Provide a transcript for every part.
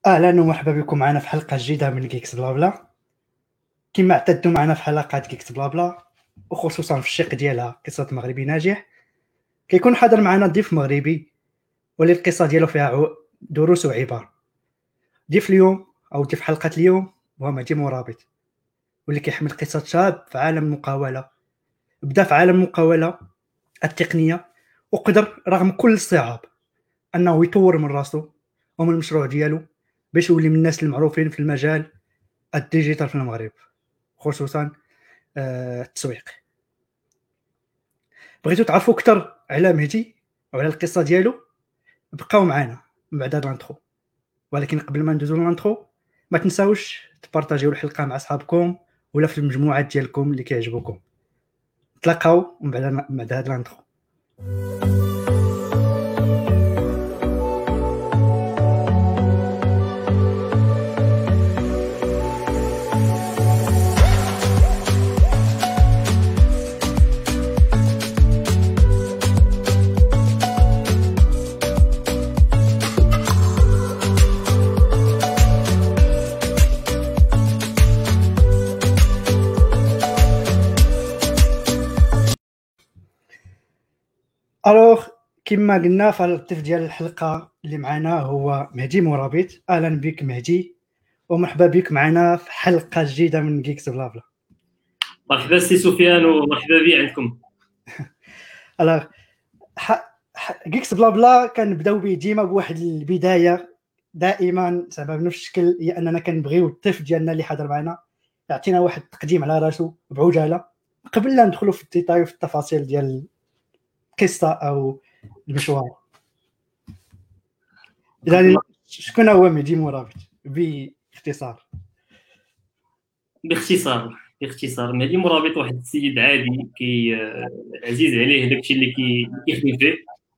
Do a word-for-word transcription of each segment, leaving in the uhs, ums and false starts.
اهلا ومرحبا بكم معنا في حلقه جديده من جيكس بلا بلا. كما اعتدتوا معنا في حلقات جيكس بلا بلا وخصوصا في الشق ديالها قصه مغربي ناجح، كيكون حاضر معنا ضيف مغربي واللي القصه ديالو فيها عو- دروس وعبر. ضيف اليوم او ضيف حلقه اليوم هو مهدي مرابط، واللي كيحمل قصه شاب في عالم المقاوله. بدا في عالم المقاوله التقنيه، وقدر رغم كل الصعاب انه يطور من راسو ومن المشروع ديالو باش يولي من الناس المعروفين في المجال الديجيتال في المغرب، خصوصا آه، التسويق. بغيتو تعرفوا اكثر على مهدي وعلى القصه ديالو؟ بقاو معنا من بعد هذا الانترو. ولكن قبل ما ندوزو للانترو، ما تنساوش تبارطاجيو الحلقه مع اصحابكم ولا في المجموعات ديالكم اللي كيعجبوكم. تلاقاو من بعد من بعد هذا الانترو. الوغ كما قلنا، فالضيف ديال الحلقه اللي معنا هو مهدي مرابط. اهلا بك مهدي ومرحبا بك معنا في حلقه جديده من جيكس بلا بلا. مرحبا سي سفيان ومرحبا بي عندكم. الوغ جيكس بلا بلا كنبداو به ديما بواحد البدايه دائما زعما بنفس الشكل، هي اننا كنبغيو الضيف ديالنا اللي حاضر معنا يعطينا واحد التقديم على راسو بعجاله قبل لا ندخلوا في الديتاي وفي التفاصيل ديال القصه او المشوار. يعني شكون هو مهدي مرابط باختصار؟ باختصار باختصار مهدي مرابط واحد السيد عادي كي عزيز عليه داكشي اللي كي كيخدم فيه،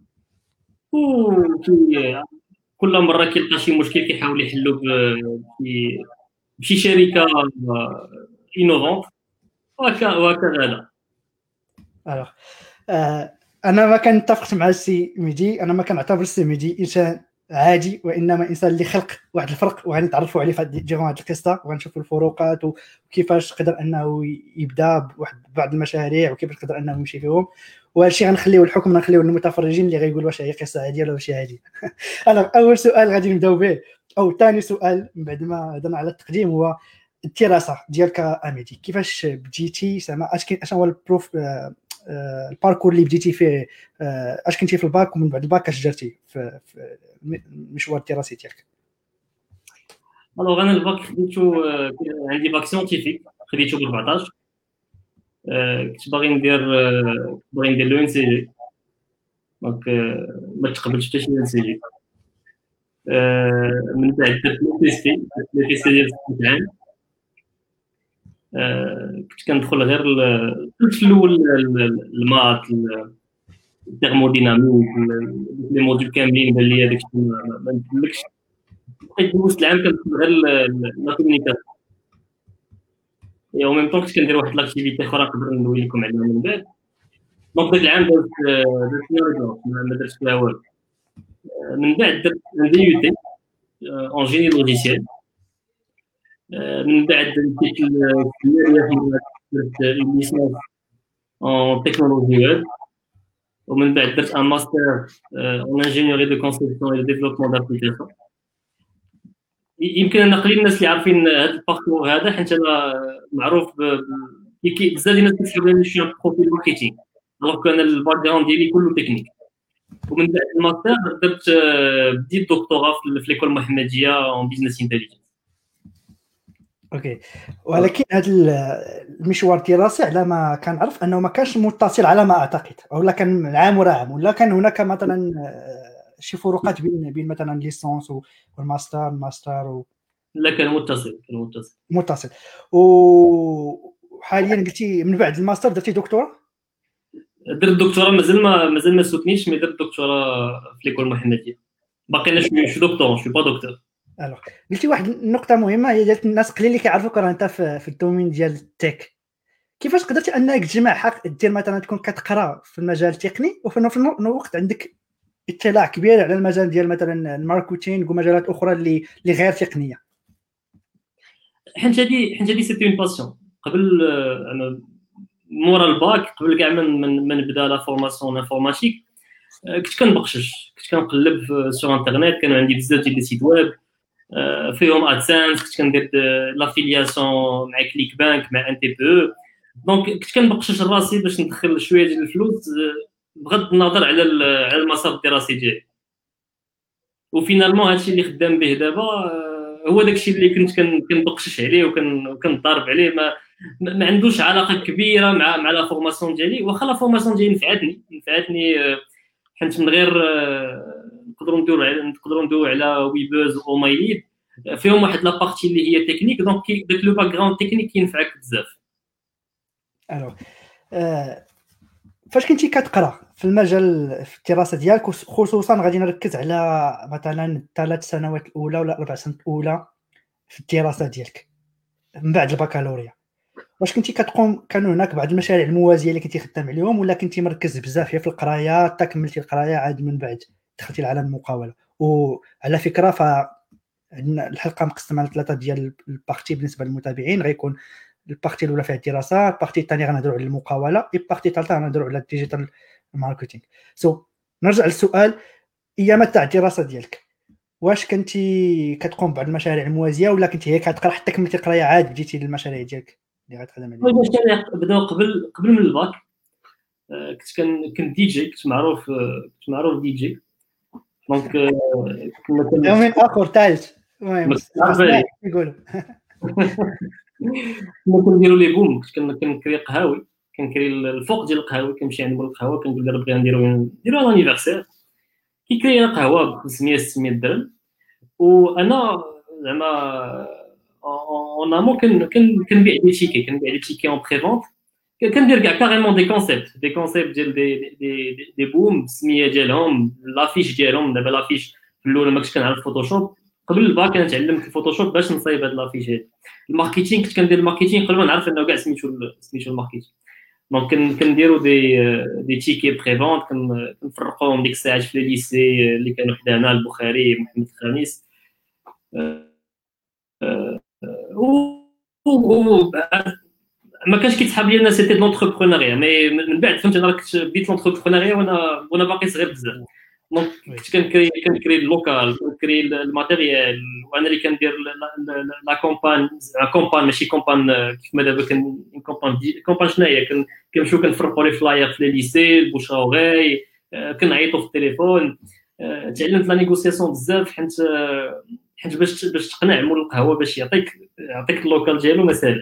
وكي كل مره كيلقى شي مشكل كيحاول يحلو بشي بشي شركه انوفونت وهكا وهكذا. الوغ آه انا ما كنتفقش مع السي مهدي، انا ما كنعتبر السي مهدي انسان عادي، وانما انسان اللي خلق واحد الفرق، وغنتعرفوا عليه في ديرون هذه القصه وغنشوفوا الفروقات وكيفاش قدر انه يبدا بواحد بعض المشاريع وكيفاش قدر انه يمشي فيهم. وهذا الشيء غنخليو الحكم غنخليو للمتفرجين اللي غيقولوا واش هي قصه عاديه ولا ماشي عاديه. انا اول سؤال غادي نبداو به او ثاني سؤال من بعد ما هضرنا على التقديم هو الدراسه ديالك اميدي. كيفاش بديتي؟ زعما اش كاين اش هو البروف آه آه الباركور اللي بديتي فيه؟ آه اش كنتي في الباك ومن بعد الباك اش درتي في, في المشوار الدراسي ديالك؟ الوغ انا الباك خديتو، عندي باك سيونتيفيك خديتو ب أربعطاش. كنت باغي ندير كنت باغي ندير لو ان سي جي، دونك ما تقبلتش حتى شي ان سي جي. من بعد درت لو بي سي لو بي سي ديال ست عام. كنت كندخل غير كنت في الاول المات الثيرموديناميك لي موديل كاملين بان ليا داكشي ما نتملكش. بقيت دوزت العام كندخل غير لا كومونيكاسيون، اي او ميم طون كنت كندير واحد لاكتيفيتي اخرى نقدر ندوي لكم عليها من بعد. دونك داك العام درت درت رياضه ما درتش فيها والو. من بعد درت دي يو تي اون جيني لوجيسيال. من بعد مشيت للكليه درت اون ليسونس اون تكنولوجي ويب. ومن بعد درت ان ماستر اون انجينيوري دو كونسيبسيون اي ديفلوبمون دابليكاسيون. يمكن انا قليل الناس اللي عارفين هذا الباركور هذا، حيت انا معروف بزاف ديال الناس كيحسبوني شي بروفيل ماركتينغ، دونك انا الباك جراوند ديالي كله تكنيك. ومن بعد الماستر درت بديت دكتوراه في ليكول محمديه اون بيزنس انتيليجنس. اوكي، ولكن هذا المشوار الدراسي على ما كنعرف انه ما كانش متصل على ما اعتقد، ولا كان عام ورا عام، ولا كان هناك مثلا شي فروقات بين بين مثلا ليسونس والماستر الماستر و... لا كان متصل كان متصل متصل. وحاليا قلتي من بعد الماستر درتي دكتوراه؟ درت الدكتوراه مازال ما مازال ما سوتنيش، مي درت الدكتوراه في ليكول محمديه. باقي انا شويه شو دكتور شو با دكتور. الوغ قلتي واحد النقطه مهمه هي ديال الناس قليل اللي كيعرفوك راه انت في, في الدومين ديال التك. كيفاش قدرتي انك تجمع حق دير مثلا تكون كتقرا في المجال التقني وفي نفس الوقت عندك اطلاع كبير على المجال ديال مثلا الماركتينغ ومجالات اخرى اللي اللي غير تقنيه؟ حيت هادي حيت هادي سيتي اون باسيون. قبل انا مورا الباك، قبل كاع من من, من نبدا لا فورماسيون انفورماتيك، كنت كنبقشش، كنت كنقلب سور انترنيت. كانوا عندي بزاف ديال لي سيت ويب فيهم ادسنس، كنت كندير لافيلياسيون مع كليك بانك مع ان تي بي او. دونك كنت كنبقشش راسي باش ندخل شويه ديال الفلوس بغض النظر على على المسار الدراسي ديالي. وفينالمون هادشي اللي خدام به دابا هو داكشي اللي كنت كنبقشش عليه وكنضارب عليه. ما ما عندوش علاقه كبيره مع مع لا فورماسيون ديالي، واخا لا فورماسيون ديالي نفعتني نفعتني حيت من غير نقدروا نديروا على نقدروا ندويو على ويبوز او مايليد فيهم واحد لا بارتي اللي هي تكنيك، دونك داك لو باك جراوند تكنيك كينفعك بزاف. الو آه فاش كنتي كتقرا في المجال في الدراسه ديالك، خصوصا غادي نركز على مثلا الثلاث سنوات الاولى ولا اربع سنوات الاولى في الدراسه ديالك من بعد البكالوريا، واش كنتي كتقوم كانوا هناك بعض المشاريع الموازيه اللي كنتي خدام عليهم، ولا كنتي مركز بزاف في القرايه حتى كملتي القرايه عاد من بعد دخلتي لعالم المقاوله؟ وعلى فكره ف عندنا الحلقه مقسمه على ثلاثه ديال البارتي بالنسبه للمتابعين. غيكون البارتي الاولى فيها الدراسه، البارتي الثانيه غنهضروا على المقاوله، البارتي الثالثه غنهضروا على الديجيتال ماركتينغ. سو so, نرجع للسؤال، ايامات تاع الدراسه ديالك واش كنتي كتقوم بعض المشاريع الموازيه، ولا كنتي هي كتقرا حتى كملتي القرايه عاد بديتي للمشاريع ديالك اللي غتخدم عليها؟ المشاريع بداو قبل قبل من الباك. كنت كنت دي جي، كنت معروف كنت معروف دي جي. دونك كنا من اخر ثالث المهم يقولوا كنا كنديروا لي بوم. كنت كنكري قهاوي، كنكري الفوق ديال القهاوي، كنمشي عند مول القهوه كنقول له بغينا نديروا نديروا لانيفرسير، كيكري قهوه ب خمسمية ستمية درهم. وانا زعما اون امو كنبيع دي تيكي كنبيع دي تيكي اون بريفونت. كندير كاع كاريمون دي كونسيبت دي كونسيبت ديال دي دي دي بوم بالسميه ديالهم، لافيش ديالهم. دابا لافيش في الاول ما كنتش كنعرف فوتوشوب، قبل الباك انا تعلمت الفوتوشوب باش نصايب هاد لافيش هادي. الماركتينغ كنت كندير الماركتينغ قبل ما نعرف انه كاع سميتو سميتو الماركتينغ. دونك كنديروا دي دي تيكي بريفونت، كنفرقوهم ديك الساعات في لي ليسي اللي كانوا حدانا، البخاري، محمد الخامس. ما كانش كيتحاب لي انا سيتي لونتربرونيا، مي من بعد فهمت انا كنت بديت لونتربرونيا وانا وانا باقي صغير بزاف. دونك كنت كنكري كنكري اللوكال، كنكري الماتيريال، وانا اللي كندير لا كومبان لا كومبان ماشي كومبان كيف ما دابا كان كومبان كومبان شنو هي. كنمشيو كنفرقوا لي فلاير في لي ليسي، البوشاوغي، كنعيطوا في التليفون. تعلمت لا نيغوسياسيون بزاف، حيت حيت باش باش تقنع مول القهوه باش يعطيك يعطيك اللوكال ديالو ما ساهلش.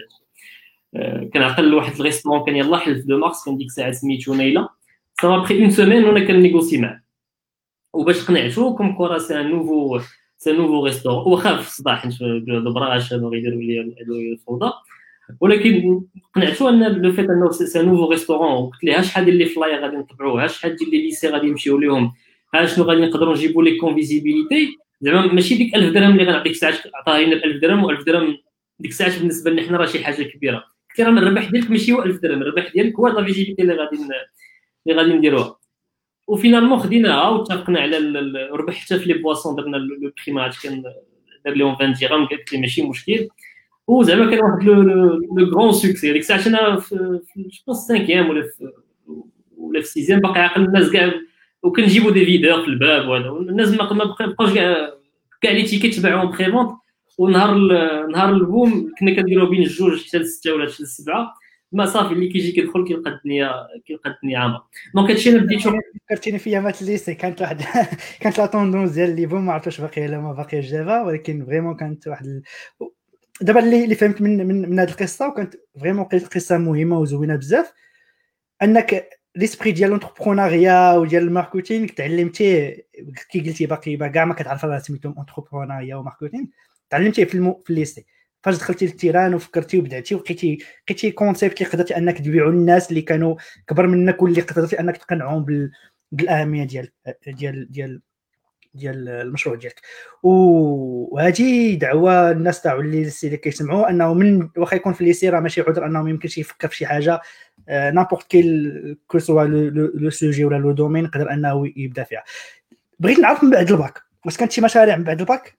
كنعقل واحد الريستورون كان يلاه حلف دو مارس، كان ديك الساعه سميتو نيله. صافا بخي اون سيمين وانا كنيغوسي معاه، وباش قنعتو كوم كورا سي ان نوفو سي نوفو ريستورون. وخاف في الصباح حيت البراش هادو غيديروا لي الفوضى، ولكن قنعتو ان لو فيت انه سي نوفو ريستورون. وقلت ليه شحال ديال لي فلاير غادي نطبعوه، شحال ديال لي ليسي غادي نمشيو ليهم، ها شنو غادي نقدروا نجيبوا لي كونفيزيبيليتي. زعما ماشي ديك ألف درهم اللي غنعطيك ساعه عطاها لنا ب ألف درهم، و1000 درهم ديك الساعه بالنسبه لنا حنا راه شي حاجه كبيره. قلت له الربح ديالك ماشي هو ألف درهم، الربح ديالك هو لا فيزيبيليتي اللي غادي اللي غادي نديروها. وفينالمون خديناها واتفقنا على الربح حتى في لي بواسون. درنا لو بري ما عرفتش كان دار لهم عشرين درهم، قالت لي ماشي مشكل. وزعما كان واحد لو غران سوكسي. ديك الساعه انا في جو خمسيام ولا في ولا في سيزيام باقي عاقل الناس كاع، وكنجيبوا دي فيديو في الباب وهذا، والناس ما بقاوش كاع كاع لي تيكيت تباعهم بريفونت. ونهار نهار البوم كنا كنديروا بين الجوج حتى لستة ولا حتى لسبعة. ما صافي اللي كيجي كيدخل كيلقى الدنيا كيلقى الدنيا عامره. دونك هادشي انا بديت فكرتيني في ايامات الليسي. كانت واحد كانت لا طوندونس ديال لي بوم، ما عرفتش باقي ولا ما باقيش دابا، ولكن فريمون كانت واحد ال... دابا اللي اللي فهمت من من, من هذه القصه، وكانت فريمون قصه مهمه وزوينه بزاف، انك ليسبري ديال لونتربرونيا وديال الماركتينغ تعلمتيه كي قلتي باقي كاع ما كتعرف راه سميتهم اونتربرونيا وماركتينغ، تعلمتيه في المو... في الليسي. فاش دخلتي للتيران وفكرتي وبدعتي ولقيتي لقيتي كونسيبت اللي قدرتي انك تبيعوا للناس اللي كانوا كبر منك، واللي قدرتي انك تقنعهم بال... بالاهميه ديال ديال ديال ديال المشروع ديالك. وهذه دعوه الناس تاع اللي اللي كيسمعوا انه من واخا يكون في الليسي راه ماشي عذر انه ما يمكنش يفكر في شي حاجه نابورت كيل كو سوا لو سوجي ولا لو دومين يقدر انه يبدا فيها. بغيت نعرف من بعد الباك واش كانت شي مشاريع من بعد الباك؟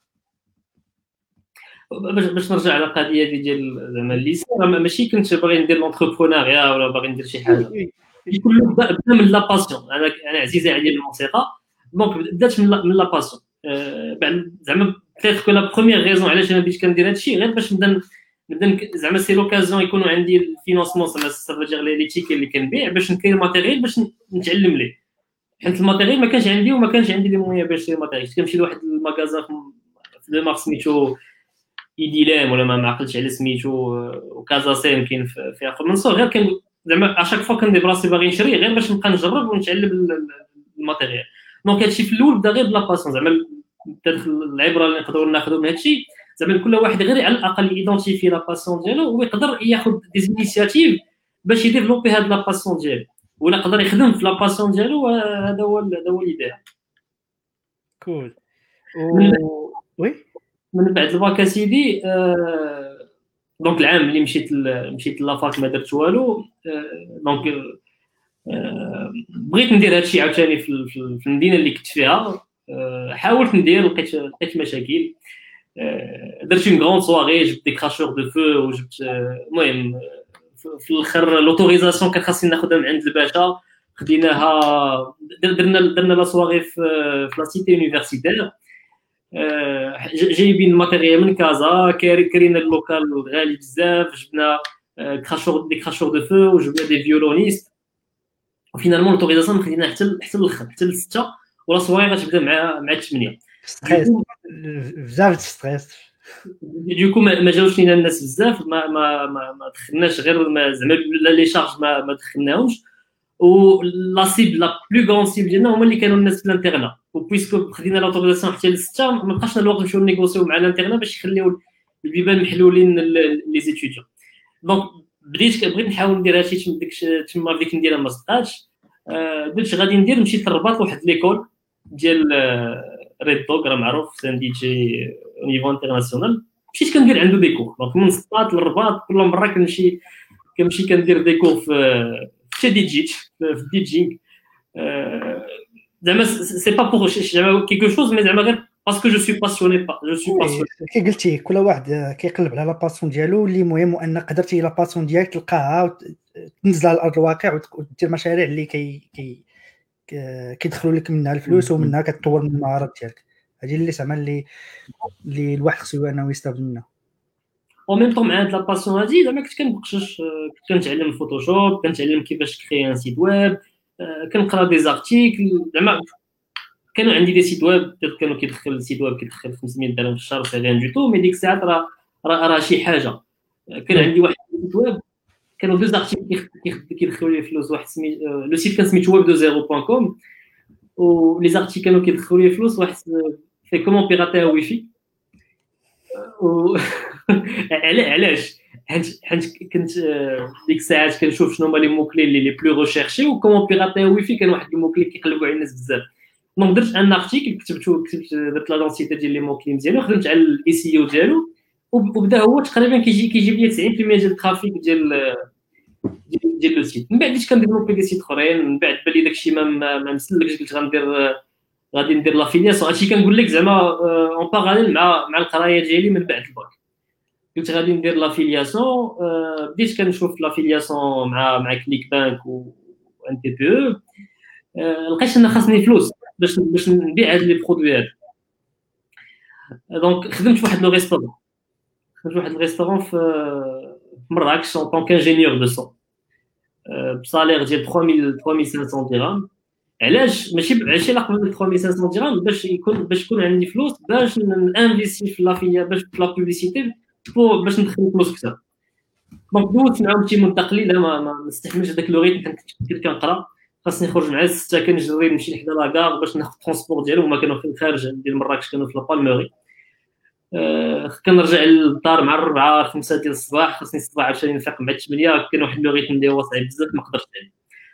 باش باش نرجع على القضيه ديال زعما الليسي، راه ماشي كنت باغي ندير لونتربرونيا ولا باغي ندير شي حاجه، كل بدا بدا من لا باسيون. انا انا عزيزه عليا الموسيقى، دونك بدات من من لا باسيون. بعد زعما بيتيت كو لا بروميير ريزون علاش انا بديت كندير هادشي غير باش نبدا نبدا زعما سي لوكازيون يكونوا عندي الفينونسمون، زعما سافا دير لي تيكي اللي كنبيع باش نكري ماتيريال باش نتعلم ليه، حيت الماتيريال ما كانش عندي وما كانش عندي لي مويا باش نشري ماتيريال. كنمشي لواحد المغازا في دو مارس سميتو ايديلام ولا ما عقلتش على سميتو، وكازا سيم كاين في اخر من صغر، غير كان زعما اشاك فوا كندير راسي باغي نشري غير باش نبقى نجرب ونتعلم الماتيريال. دونك هادشي في الاول بدا غير بلا باسون، زعما تدخل العبره اللي نقدروا ناخذوا من هادشي زعما كل واحد غير على الاقل ايدونتيفي لا باسون ديالو ويقدر ياخذ دي زينيسياتيف باش يديفلوبي هاد لا باسون ديالو، ولا يقدر يخدم في لا باسون ديالو. هذا هو هذا هو ليدير. كول. وي من بعد الباك سيدي آه... دونك العام اللي مشيت ل... مشيت لافاك ما درت والو. آه... دونك آه... بغيت ندير هادشي عاوتاني في... في... في المدينه اللي كنت فيها. آه... حاولت ندير، لقيت لقيت مشاكل. آه... درت اون غروند سواري، جبت دي كراشور دو فو وجبت المهم آه... في الاخر لوتوريزاسيون كان خاصني ناخذها من عند الباشا، خديناها درنا درنا لا سواري في في لا سيتي يونيفرسيتير. جايبين الماتيريال من كازا، كرينا اللوكال غالي بزاف، جبنا كراشور دي كراشور دو فو وجبنا دي فيولونيست، وفينالمون لوتوريزاسيون خدينا حتى حتى الاخر حتى للستة، ولا سواري غتبدا مع مع الثمانية. ستريس بزاف ستريس. دوكو ما جاوش لينا الناس بزاف، ما ما ما, ما دخلناش غير زعما لي شارج ما, ما دخلناهمش. و لا سيب لا بلو غون سيب ديالنا هما اللي كانوا الناس في الانترنا، وبويسكو خدينا لوتوريزاسيون حتى للستة ما بقاش الوقت نمشيو نيغوسيو مع الانترنا باش يخليو البيبان محلولين لي زيتيديون. دونك بديت بغيت نحاول ندير هادشي تما ديك تما بديت نديرها ما صدقاتش. قلت غادي ندير، مشيت للرباط لواحد ليكول ديال ريد دوغ راه معروف سان دي جي او نيفو انترناسيونال، مشيت كندير عنده دي كور. دونك من سطات للرباط كل مره كنمشي كنمشي كندير دي كور في في دي جيت في ديجينغ. زعما سي با بور زعما كيكو شوز مي زعما غير باسكو جو سوي باسيوني با جو سوي باسيوني. كي قلتي كل واحد كيقلب على لا باسيون ديالو، اللي مهم ان قدرتي لا باسيون ديالك تلقاها وتنزلها على ارض الواقع ودير مشاريع اللي كي كي كيدخلوا لك منها الفلوس ومنها كتطور من المهارات ديالك. هذه اللي زعما اللي اللي الواحد خصو انه يستافد منها. او ميم طون مع هاد لا باسيون هادي زعما كنت كنبقشش، كنت كنتعلم فوتوشوب، كنتعلم كيفاش كري ان سيت ويب، كنقرا دي زارتيكل. زعما كانوا عندي دي سيت ويب كانوا كيدخل السيت ويب كيدخل خمسمية درهم في الشهر، سي ريان دو تو، مي ديك الساعات راه راه شي حاجه. كان عندي واحد السيت ويب كانوا دو زارتيكل كيدخلوا لي فلوس، واحد سمي لو سيت كان سميتو ويب دو زيرو بوان كوم، و لي زارتيكل كانوا كيدخلوا لي فلوس، واحد في كومون بيراتي واي فاي. و علاش؟ حيت كنت ديك الساعات كنشوف شنو هما لي موكلي اللي لي بلو ريشيرشي، وكومون بيراتي واي فاي كان واحد الموكلي كيقلبوا على الناس بزاف. دونك درت ان ارتيكل كتبتو كتبت درت لا دونسيتي ديال لي موكلي مزيان وخدمت على الاي سي او ديالو، وبدا هو تقريبا كيجي كيجيب لي تسعين بالمية ديال الترافيك ديال ديال لو سيت. من بعد بديت كنديفلوبي دي سيت اخرين، من بعد بان لي داكشي ما ما مسلكش، قلت غندير غادي ندير لافيلياسيون. هادشي كنقول لك زعما اون باراليل مع مع القرايه ديالي من بعد الباك. قلت غادي ندير لافيلياسيون، بديت كنشوف لافيلياسيون مع مع كليك بانك و ان تي بي او. لقيت ان خاصني فلوس باش باش نبيع هاد لي برودوي هاد. دونك خدمت في واحد لو ريستورون، خدمت واحد الريستورون في مراكش اون طون كانجينيور دو سون بصالير ديال ثلاثة آلاف وخمسمية درهم. علاش؟ ماشي ماشي لا قبل ثلاثة آلاف وخمسمية درهم باش يكون باش يكون عندي فلوس باش نانفيستي في لافيليا باش في لا بوبليسيتي باش ندخل فلوس اكثر. دونك دوزت معاهم شي مده قليله، ما ما نستحملش هذاك لو ريتم. كنت كنقرا خاصني نخرج مع السته، كنجري نمشي لحدا لاكار باش ناخذ ترونسبور ديالهم، هما كانوا في الخارج ديال مراكش، كانوا في لابالموري. أه كنرجع للدار مع الربعه خمسه ديال الصباح، خاصني الصباح عشان نفيق مع الثمانيه. كان واحد لو ريتم اللي هو صعيب بزاف ما قدرتش عليه.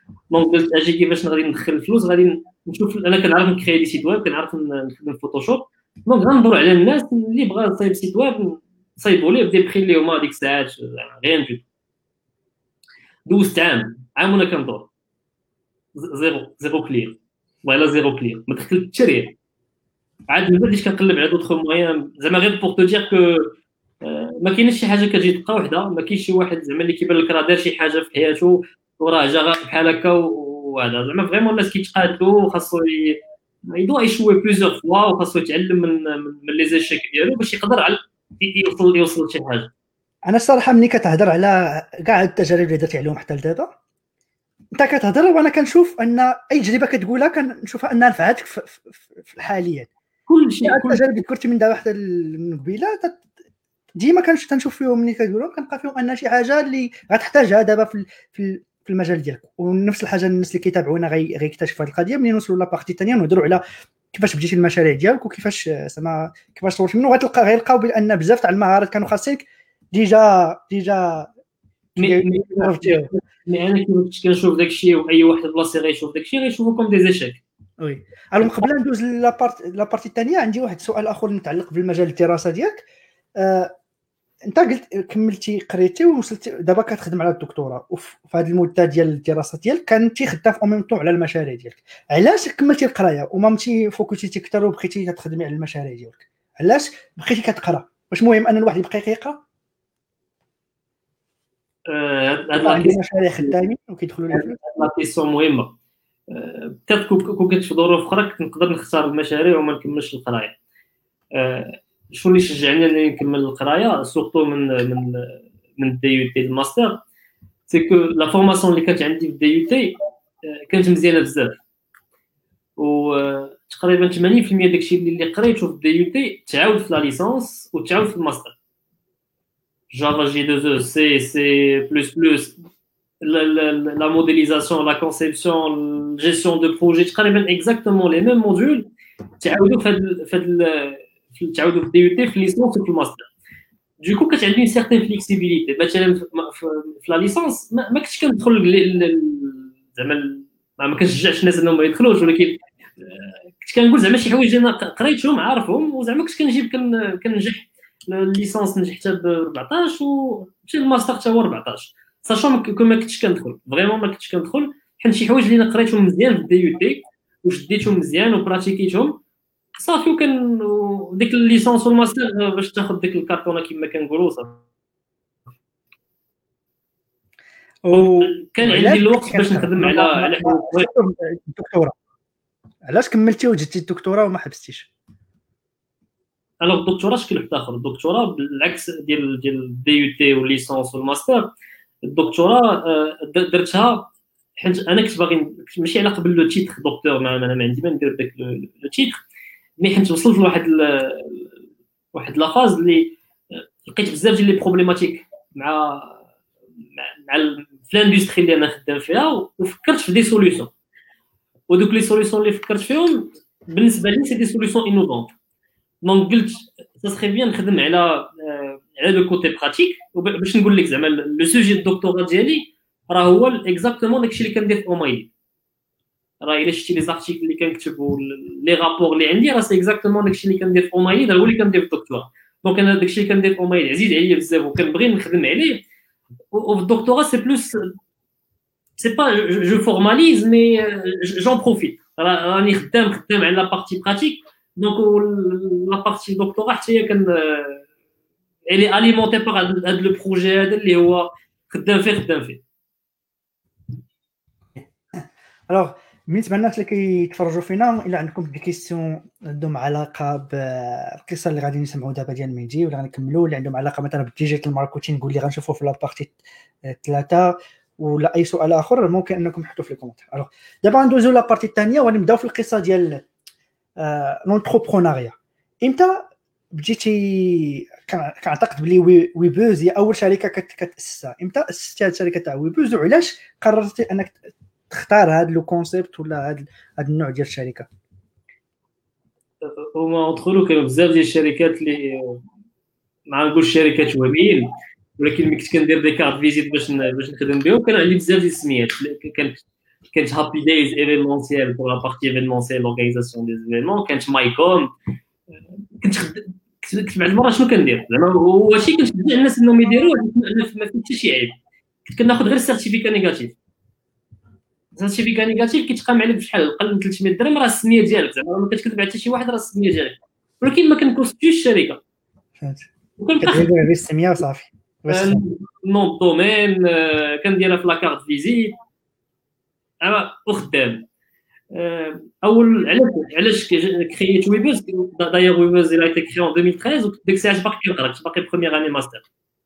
دونك قلت اجي كيفاش غادي ندخل الفلوس، غادي نشوف. انا كنعرف نكري دي سيت ويب، كنعرف نخدم فوتوشوب، دونك غندور على الناس اللي بغا يصايب سيت ويب نصايبوا ليه بدي بخي اللي هما ديك الساعات غير نجي. دوزت عام عام وانا كندور زيرو زيرو كلير، والله زيرو كلير، ما دخلت حتى ريال. عاد من بعد بديت كنقلب على دوطخ مويان، زعما غير بوغ تو دير كو ما كاينش شي حاجه كتجي دقه وحده، ما كاينش شي واحد زعما اللي كيبان لك راه دار شي حاجه في حياته وراه جا بحال هكا وهذا. زعما فريمون الناس كيتقاتلوا وخاصو يدو يشوي بليزيور فوا وخاصو يتعلم من من لي زيشيك ديالو باش يقدر على يوصل يوصل لشي حاجه. انا الصراحه ملي كتهضر على كاع التجارب اللي درت عليهم حتى لدابا، انت كتهضر وانا كنشوف ان اي تجربه كتقولها كنشوفها انها نفعتك في, في الحاليات. كل شيء كل التجارب اللي ذكرتي من دا واحده من قبيله ديما كنشوف فيهم ملي كتقولهم كنلقى فيهم ان شي حاجه اللي غتحتاجها دابا في في في المجال ديالك. ونفس الحاجه الناس اللي كيتابعونا غيكتشفوا هذه القضيه ملي نوصلوا لابارتي الثانيه ونهضروا على كيفاش بديتي المشاريع ديالك وكيفاش زعما كيفاش طورتي منه. غتلقى غيلقاو بان بزاف تاع المهارات كانوا خاصينك ديجا ديجا مي مي انا كيفاش كنشوف داكشي واي واحد بلاصي غيشوف داكشي غيشوفو كوم دي زيشيك. وي الو قبل ندوز لابارت لابارتي الثانيه عندي واحد السؤال اخر متعلق بالمجال الدراسه ديالك. آه، انت قلت كملتي قريتي ووصلتي دابا كتخدم على الدكتوراه، وفي هذه المده ديال الدراسه ديالك كنتي خدام في اوميم طون على المشاريع ديالك. علاش كملتي القرايه وما مشيتي فوكسيتي اكثر وبقيتي تخدمي على المشاريع ديالك؟ علاش بقيتي كتقرا؟ واش مهم ان الواحد يبقى كيقرا؟ هاد لا مشاريع خدامين وكيدخلوا ليه فلوس. لا كيسيون مهمه. بتات كون كنت في ظروف اخرى كنت نقدر نختار المشاريع وما نكملش القرايه. شنو اللي شجعني انني نكمل القرايه سورتو من من من الدي يو تي الماستر، سي كو لا فورماسيون اللي كانت عندي في الدي يو تي كانت مزيانه بزاف، وتقريبا ثمانين بالمية داكشي اللي قريته في الدي يو تي تعاود في لا ليسانس وتعاود في الماستر. جافا جي دو او سي سي بلس بلس la, la, la modélisation, la conception, la gestion de projet, تقريبا exactement les mêmes modules تعاودوا في هاد في هاد تعاودوا في الدي يو تي في ليسونس وفي الماستر. دو كو كانت عندي سيغتين فليكسيبيليتي. مثلا في لا ليسونس ما كنتش كندخل زعما ما كنشجعش الناس انهم ما يدخلوش، ولكن كنت كنقول زعما شي حوايج انا قريتهم عارفهم وزعما كنت كنجيب كننجح. الليسونس نجح حتى ب أربعطاش ومشي للماستر حتى هو أربعطاش، ساشون كون ما كنتش كندخل فريمون ما كنتش كندخل حيت شي حوايج اللي انا قريتهم مزيان في الدي يو تي وشديتهم مزيان وبراتيكيتهم صافي. وكان ديك الليسونس والماستر باش تاخذ ديك الكارطونه كما كنقولوا صافي. وكان عندي الوقت باش نخدم على على الدكتوراه. علاش كملتي وجدتي الدكتوراه وما حبستيش؟ الوغ الدكتوراه شكل واحد اخر. الدكتوراه بالعكس ديال ديال الدي يو تي والليسونس والماستر، الدكتوراه درتها حيت انا كنت باغي ماشي على قبل لو تيتر دكتور، ما انا ما عندي ما ندير داك لو تيتر، مي حيت وصلت لواحد واحد لا فاز اللي لقيت بزاف ديال لي بروبليماتيك مع مع في الاندستري اللي انا خدام فيها، وفكرت في دي سوليوشن. ودوك لي سوليوشن اللي فكرت فيهم بالنسبه لي سي دي سوليوشن انوفونت. دونك قلت سا سخي بيان نخدم على على لو كوتي براتيك. باش نقول لك زعما لو سوجي الدكتوراه ديالي راه هو اكزاكتومون داكشي اللي كندير في اومايلي. راه الا شفتي لي زارتيكل اللي كنكتب لي رابور اللي عندي راه سي اكزاكتومون داكشي اللي كندير في اومايلي راه هو اللي كندير في الدكتوراه. دونك انا داكشي اللي كندير في اومايلي عزيز عليا بزاف وكنبغي نخدم عليه. وفي الدكتوراه سي بلوس سي با جو فورماليز مي جون بروفيت. راني خدام خدام على لا بارتي براتيك. دونك لا بارتي دكتوراه حتى هي كان الي اليمونتي باغ هاد لو بروجي هذا اللي هو خدام فيه خدام فيه. الوغ بالنسبه للناس اللي كيتفرجوا فينا، الا عندكم دي كيسيون عندهم علاقه بالقصه اللي غادي نسمعوا دابا ديال ميدي ولا غنكملوا، اللي عندهم علاقه مثلا بالديجيتال ماركتينغ اللي غنشوفوا في لابارتي ثلاثه، ولا اي سؤال اخر ممكن انكم تحطوا في الكومنتير. الوغ دابا ندوزو لابارتي الثانيه ونبداو في القصه ديال لونتربرونيا. امتى بديتي؟ كنعتقد بلي ويبوز هي اول شركه كتاسسها. امتى اسستي هذه الشركه تاع ويبوز وعلاش قررتي انك تختار هذا لو كونسيبت ولا هذا هذا النوع ديال الشركه؟ هما ادخلوا كانوا بزاف ديال الشركات اللي ما نقولش شركات وهميين، ولكن ملي كنت كندير دي كارت فيزيت باش باش نخدم بهم كان عندي بزاف ديال السميات. كانت كانت هابي دايز ايفينمونسيال pour la partie événementielle l'organisation des événements كانت مايكوم كنت خد... كنت بعض المرات شنو كندير زعما هو شي كنشجع الناس انهم يديروه ما فيه حتى شي عيب كنت كناخذ غير السيرتيفيكا نيجاتيف السيرتيفيكا نيجاتيف كيتقام عليك بشحال اقل من ثلاثمية درهم راه السميه ديالك زعما ما كتكذب على حتى شي واحد راه السميه ديالك ولكن ما كنكونستيوش الشركه فهمت وكناخذ كدير السميه وصافي نون دومين كنديرها في لاكارت فيزيت انا وخدام اول علاش علاش كرييت ويبوز دايوغ ويبوز il a été créé en deux mille treize وديك الساعه باقي كنقرا كنت باقي بروميير اني ماستر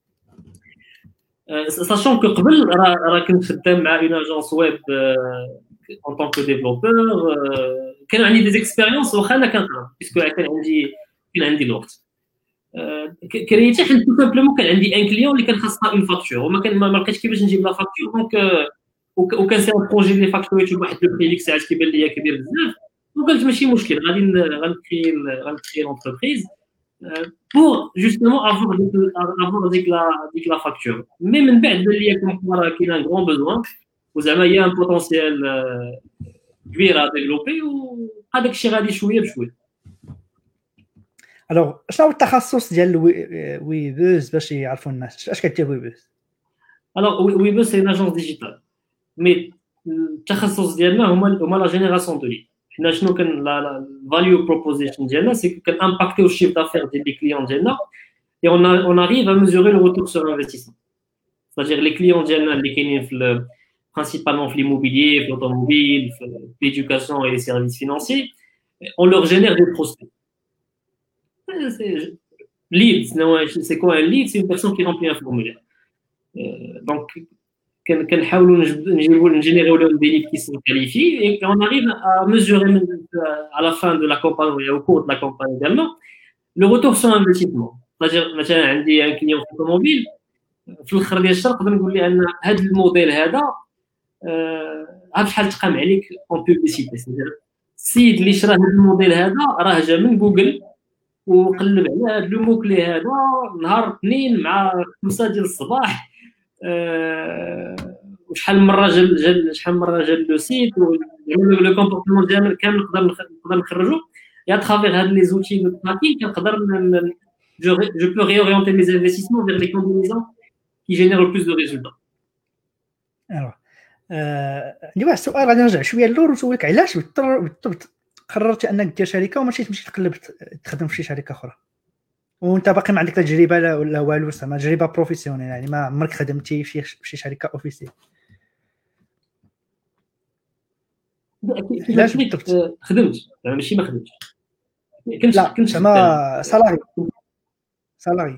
ساشون كو قبل راه راه كنت خدام مع اون اجونس ويب en tant que développeur كان عندي دي اكسبيريونس واخا انا كنقرا باسكو كان عندي كان عندي الوقت كرييت حيت تو سامبلومون كان عندي ان كليون اللي كان خاصها اون فاكتور وما كان ما لقيتش كيفاش نجيب لا فاكتور دونك وكان سي ان بروجي اللي فاكتوريت بواحد لو بري ديك الساعات كيبان ليا كبير بزاف وقلت ماشي مشكل غادي غنكري غنكري لونتربريز pour justement avoir avoir ديك لا ديك لا فاكتور مي من بعد بان ليا كون كاين ان غران بوزوان وزعما يا ان بوتونسيال كبير ا ديفلوبي وهذاك الشيء غادي شويه بشويه. الوغ شنو هو التخصص ديال ويبوز باش يعرفوا الناس اش كدير ويبوز؟ الوغ ويبوز سي اجونس ديجيتال مي التخصص ديالنا هما هما لا جينيراسيون دو ليد حنا شنو كان لا فاليو بروبوزيشن ديالنا سي كان امباكتيو الشيف دافير ديال لي كليون ديالنا et on a on arrive à mesurer le retour sur investissement c'est-à-dire les clients ديالنا اللي كاينين في principalement في l'immobilier, في l'automobile, في l'éducation et les services financiers on leur génère des prospects. C'est lead, c'est quoi un lead? C'est une personne qui remplit un formulaire. Euh, donc كنحاولوا نجيبوا نجينيريو لهم des leads qui sont qualifiés et on arrive à mesurer à la fin de la campagne et au cours de la campagne également le retour sur investissement. C'est-à-dire مثلا عندي ان كليون في الطوموبيل في الاخر ديال الشهر نقدر نقول ليه ان هذا الموديل هذا عاد شحال تقام عليك اون بوبليسيتي السيد اللي شرا هذا الموديل هذا راه جا من جوجل وقلب على هذا لو مو كلي هذا نهار اثنين مع خمسة ديال الصباح وشحال من مره جا شحال من مره جا لو سيت لو كومبورتمون ديالنا كامل نقدر نقدر نخرجو يا ترافير هاد لي زوتي دو تراكين كنقدر je je peux réorienter mes investissements vers les combinaisons qui génèrent le plus de résultats. Alors عندي واحد السؤال غادي نرجع شويه للور ونسولك علاش بالضبط قررتي انك دير شركه وماشي تمشي تقلب تخدم في شي شركه اخرى وانت باقي ما عندك تجربه ولا والو زعما تجربه بروفيسيونيل يعني ما عمرك خدمتي في شي شركه اوفيسيال؟ علاش بالضبط خدمت ماشي ما خدمتش كنت كنت زعما سالاري سالاري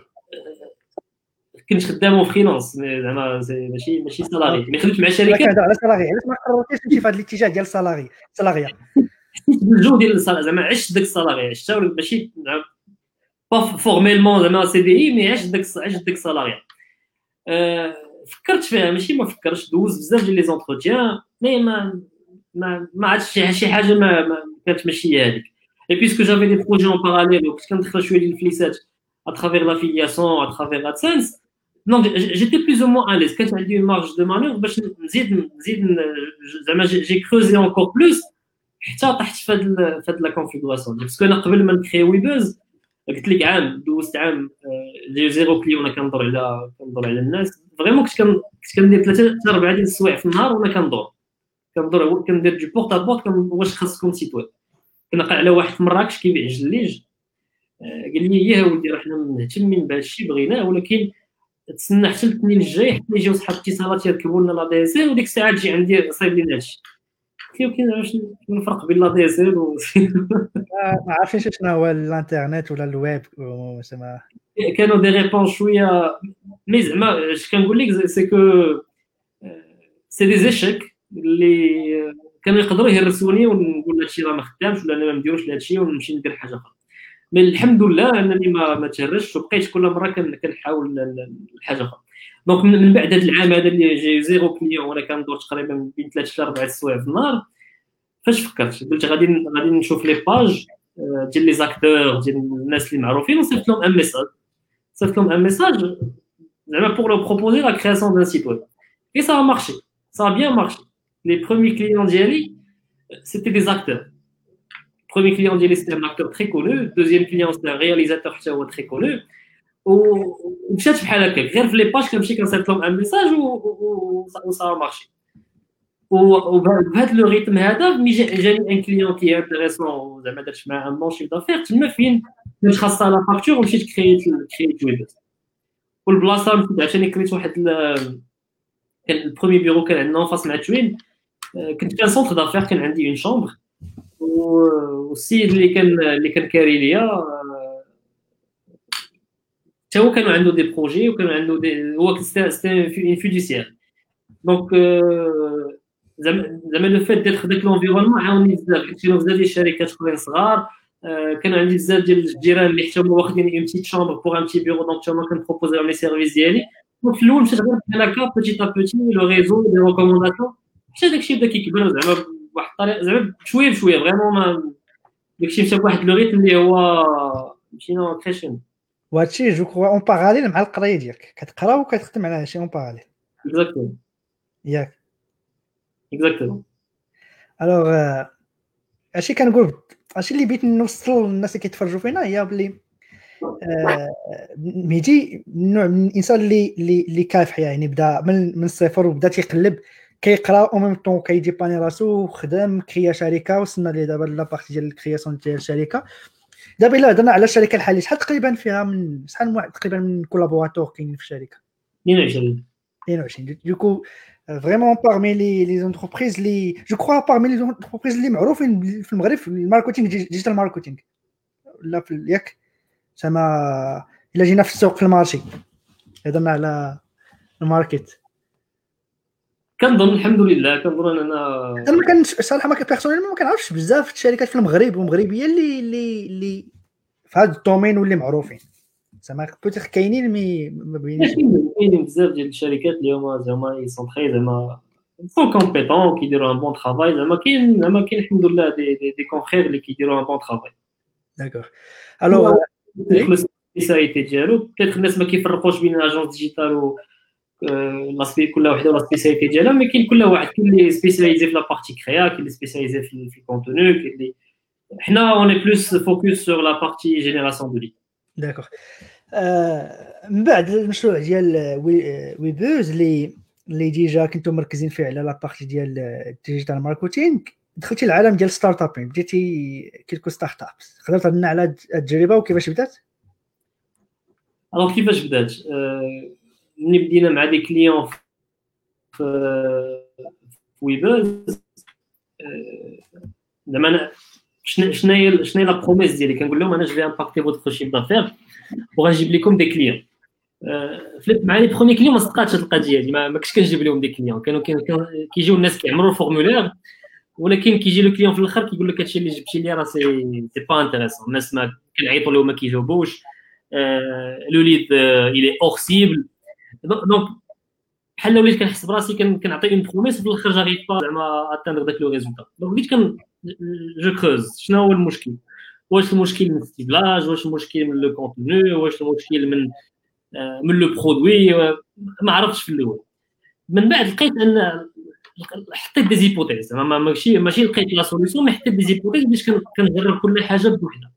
كنت خدام فريلانس زعما ماشي ماشي سالاري مي خدمت مع شركه كنهضر على سالاري علاش ما قررتيش تمشي في هذا الاتجاه ديال السالاري سالاريا حسيت بالجو ديال السالاري زعما عشت داك السالاري عشتها ماشي با فورميلمون زعما سي دي اي مي عشت داك عشت داك السالاري أه فكرت فيها ماشي ما فكرتش دوز بزاف ديال لي زونتروتيان مي ما ما ما عادش شي حاجه ما, ما كانت ماشي هذيك اي بيسكو جافي دي بروجي اون باراليل وكنت كندخل شويه ديال الفليسات à travers l'affiliation à travers AdSense donc j'étais plus ou moins à l'aise quand j'ai eu une marge de manœuvre باش نزيد نزيد زعما j'ai creusé encore plus حتى طحت في هاد في هاد لا كونفيغوراسيون باسكو انا قبل ما نكري ويبوز قلت لك عام دوزت عام جي زيرو كليون كندور على كندور على الناس فريمون كنت كنت كندير ثلاثه حتى اربعه ديال السوايع في النهار وانا كندور كندور كندير دو بورت ا بورت واش خاصكم سيت ويب كنلقى على واحد في مراكش كيبيع الجليج قال لي يا ولدي راه حنا مهتمين بهذا الشيء بغيناه ولكن تسنى حتى الاثنين الجاي حتى يجيو صحاب اتصالات يركبوا لنا لا دي اس ال وديك الساعه تجي عندي صايب لينا هذا الشيء كاين واش الفرق بين لا دي اس ال و ما عارفينش شنو هو الانترنت ولا الويب زعما كانوا دي ريبونس شويه مي زعما اش كنقول لك سي كو سي دي زيشيك اللي كانوا يقدروا يهرسوني ونقول هادشي راه ما خدامش ولا انا ما نديروش لهذا الشيء ونمشي ندير حاجه اخرى مي الحمد لله انني ما ما تهرشتش وبقيت كل مره كنحاول الحاجه اخرى دونك من بعد هذا العام هذا اللي جاي زيرو كليون وانا كندور تقريبا بين ثلاثة حتى أربعة السوايع في النهار فاش فكرت قلت غادي غادي نشوف لي باج ديال لي زاكتور ديال الناس اللي معروفين وصيفط لهم ان ميساج صيفط لهم ان ميساج زعما بور لو بروبوزي لا كرياسيون دان سيت ويب اي سا مارشي سا بيان مارشي les premiers clients d'Yali, c'était des acteurs. Premier client d'Yali, c'était un acteur très connu. Deuxième client, c'était un réalisateur très connu. ومشات بحال هكاك غير في لي باج كنمشي كنصيفط لهم ان ميساج وصا مارشي. وبهذا لو ريتم هذا ملي جاني ان كليون كي انتريسون زعما درت معاه ان بون شيف دافير تما فين مشيت خاصه لا فاكتور ومشيت كرييت كرييت ويب. والبلاصه مشيت عشان كريت واحد كان البروميي بيرو كان عندنا فاس مع توين. كنت كان سونتر دافير كان عندي اون شومبر والسيد اللي كان اللي كان كاري ليا حتى هو كانوا عنده دي بروجي وكانوا عنده دي هو سيتي اون فيديسيير. دونك زعما زعما لو فيت ديال داك لونفيرونمون عاوني بزاف حيت كانوا بزاف ديال الشركات اخرين صغار. كان عندي بزاف ديال الجيران اللي حتى هما واخدين اون بتيت شومبر بوغ ان بتي بيرو. دونك حتى هما كنبروبوزي لهم لي سيرفيس ديالي. دونك في الاول مشيت غير بحال هكا بوتيت ا بوتي لو ريزو دي ريكومونداسيون حتى داكشي بدا كيكبر زعما بواحد الطريقه زعما بشويه بشويه فريمون ما داكشي مشى بواحد لو ريتم اللي هو مشينا كريشن. وهادشي جو كرو اون باراليل مع القرايه ديالك كتقرا وكتخدم على هادشي اون باراليل. اكزاكتومون ياك اكزاكتومون. الوغ هادشي كنقول هادشي اللي بغيت نوصل للناس اللي كيتفرجوا فينا هي بلي مهدي النوع من الانسان اللي اللي كافح يعني بدا من من الصفر وبدا تيقلب كيقرا او ميم طون كيديباني راسو وخدم كريا شركه وصلنا ليه دابا لا بارتي ديال الكرياسيون ديال الشركه. دابا الا هضرنا على الشركه الحاليه شحال تقريبا فيها من شحال من واحد تقريبا من كولابوراتور كاين في الشركه؟ اثنين وعشرين اثنين وعشرين. دوكو فريمون بارمي لي لي زونتربريز لي جو كرو بارمي لي زونتربريز اللي معروفين في المغرب في الماركتينغ ديجيتال ماركتينغ ولا في ياك زعما الا جينا في السوق في المارشي هضرنا على الماركت. كنظن الحمد لله كنظن انا انا ما كنش صراحه ما بيرسونيل ما كنعرفش بزاف الشركات في المغرب ومغربيه اللي اللي اللي في هذا الدومين واللي معروفين زعما بوتيخ كاينين مي ما بينيش كاينين بزاف ديال الشركات اللي هما زعما يسون تري زعما سون كومبيتون كيديروا ان بون ترافاي زعما كاين زعما كاين الحمد لله دي دي, دي كونفرير اللي كيديروا ان بون ترافاي. داكور الوغ يخلص السبيسياليتي ديالو بيتيت الناس ما كيفرقوش بين اجونس ديجيتال و لاسبي كل وحده ولا سبيسياليتي ديالها مي كاين كل واحد كاين اللي سبيسياليزي في لا بارتي كريا كاين اللي سبيسياليزي في في الكونتوني كاين اللي حنا اون اي بلوس فوكس سور لا بارتي جينيراسيون دو ليد. داكور. من بعد المشروع ديال ويبوز اللي اللي ديجا كنتو مركزين فيه على لا بارتي ديال الديجيتال ماركتينغ دخلتي العالم ديال ستارت اب بديتي كيلكو ستارت اب تقدر تهضرنا على التجربه وكيفاش بدات؟ الوغ كيفاش بدات ملي بدينا مع دي كليون في ويبوز زعما شنو شنو شنو لا بروميس ديالي كنقول لهم انا جو في امباكتي فوتر شيف دافير وغنجيب لكم دي كليون. فليت مع لي برومي كليون ما صدقاتش هاد القضيه دي ما كنتش كنجيب لهم دي كليون كانوا كيجيو الناس كيعمروا الفورمولير ولكن كيجي لو كليون في الاخر كيقول لك هادشي اللي جبتي لي راه سي سي با انتريسون الناس ما كنعيطوا لهم ما كيجاوبوش لو ليد الي اور سيبل. دونك بحال وليت كنحس براسي كنعطي اون بروميس في الاخر جاريف با زعما اتاندر داك لو ريزولتا. دونك بديت كن جو كروز شنو هو المشكل واش المشكل من الستيبلاج واش المشكل من لو كونتوني واش المشكل من من لو برودوي ما عرفتش في الاول. من بعد لقيت ان حطيت دي زيبوتيز زعما ماشي ماشي لقيت لا سوليسيون مي حطيت دي زيبوتيز باش كنجرب كل حاجه بوحدها.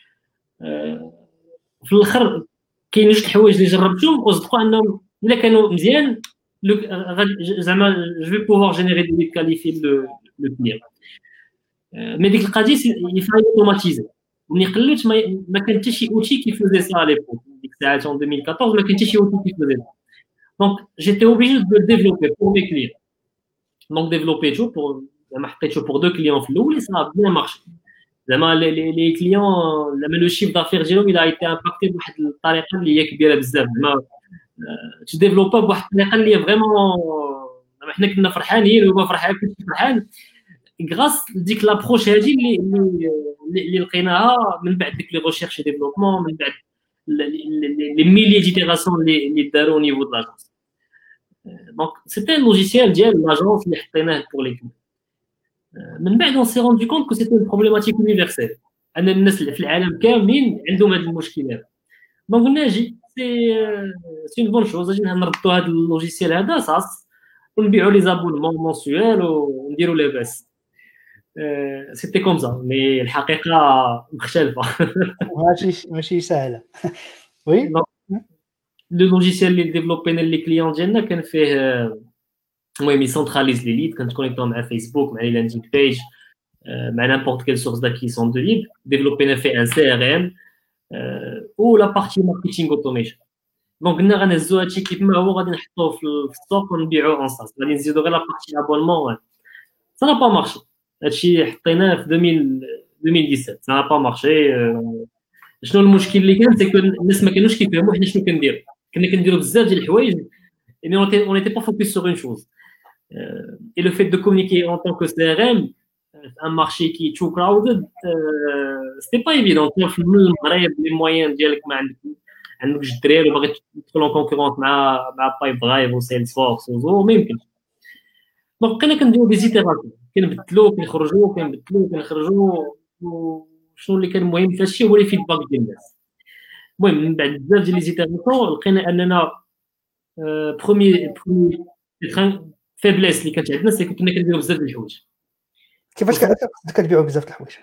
في الاخر كاين جوج الحوايج اللي جربتهم وصدقوا انهم الا كانوا مزيان زعما جو في بوفوار جينيري دي كاليفي لو لو كليون. مي ديك القضيه يفاي اوتوماتيزي ملي قلت ما كان حتى شي اوتي كيفوزي سا لي بوك ديك الساعات en deux mille quatorze ما كان حتى شي اوتي كيفوزي. دونك جيتي اوبليجي دو ديفلوبي بور مي كليون. دونك ديفلوبيتو بور زعما حطيتو بور دو كليون في الاول صا بيان مارشي زعما لي لي كليون زعما لو شيف دافير ديالهم الى ايتي امباكتي بواحد الطريقه اللي هي كبيره بزاف زعما تو ديفلوبا بواحد الطريقه اللي هي فريمون زعما حنا كنا فرحانين وهو فرحان كنت فرحان غراس ديك لابروش هادي اللي اللي اللي لقيناها من بعد ديك لي ريشيرش اي ديفلوبمون من بعد لي ميلي ديتيراسيون اللي اللي داروا نيفو د لاجونس. دونك سيتي لوجيسيال ديال لاجونس اللي حطيناه بور لي كليون. من بعد اون سي روندو كونط كو سيتي بروبليماتيك يونيفرسيل ان الناس اللي في العالم كاملين عندهم هاد المشكل هذا. دونك قلنا جي سي سي اون بون شوز اجي نردوا هاد اللوجيسيال هذا صاص ونبيعوا لي زابونمون مونسيوال ونديروا لاباس. سيتي كوم سا مي الحقيقه مختلفه. ماشي ماشي سهله. وي لو لوجيسيال اللي ديفلوبينا لي كليون ديالنا كان فيه المهم يسونتراليز لي ليد، كنتكونيكتو مع فيسبوك، مع لي لاندينغ بيج، مع n'importe quelle source d'acquisition de lead. développé fait un C R M ou la partie marketing automation. دونك قلنا غنهزو هادشي كيف ما هو غادي نحطوه في السوق ونبيعوه اون ساس، غادي نزيدو غير لا بارتي ابونمون. سا نا با مارشي هادشي حطيناه في ألفين وسبعطاش، سا نا با مارشي. شنو المشكل اللي كان؟ سي كو الناس ما كانوش كيفهموا حنا شنو كنديرو. كنا كنديرو بزاف ديال الحوايج يعني اون ايتي با فوكس سور اون شوز. اي لو فيت دو كومونيكي اون طون كو سي ار ام un marché qui est too crowded, euh, c'était pas évident. في المغرب لي موين ديالك ما عندك عندك جوج دراري وباغي تدخل اون كونكورونس مع مع بايب درايف وسيلز فورس وزو ما يمكنش. دونك بقينا كنديرو دي زيتيراسيون، كنبدلو كنخرجو كنبدلو كنخرجو. وشنو اللي كان مهم في هادشي هو لي فيدباك ديال الناس. المهم من بعد بزاف ديال لي زيتيراسيون لقينا اننا برومي برومي فيبليس اللي كانت عندنا سي كنا كنديرو بزاف ديال الحوايج. كيفاش كتبيعوا بزاف د الحوايج؟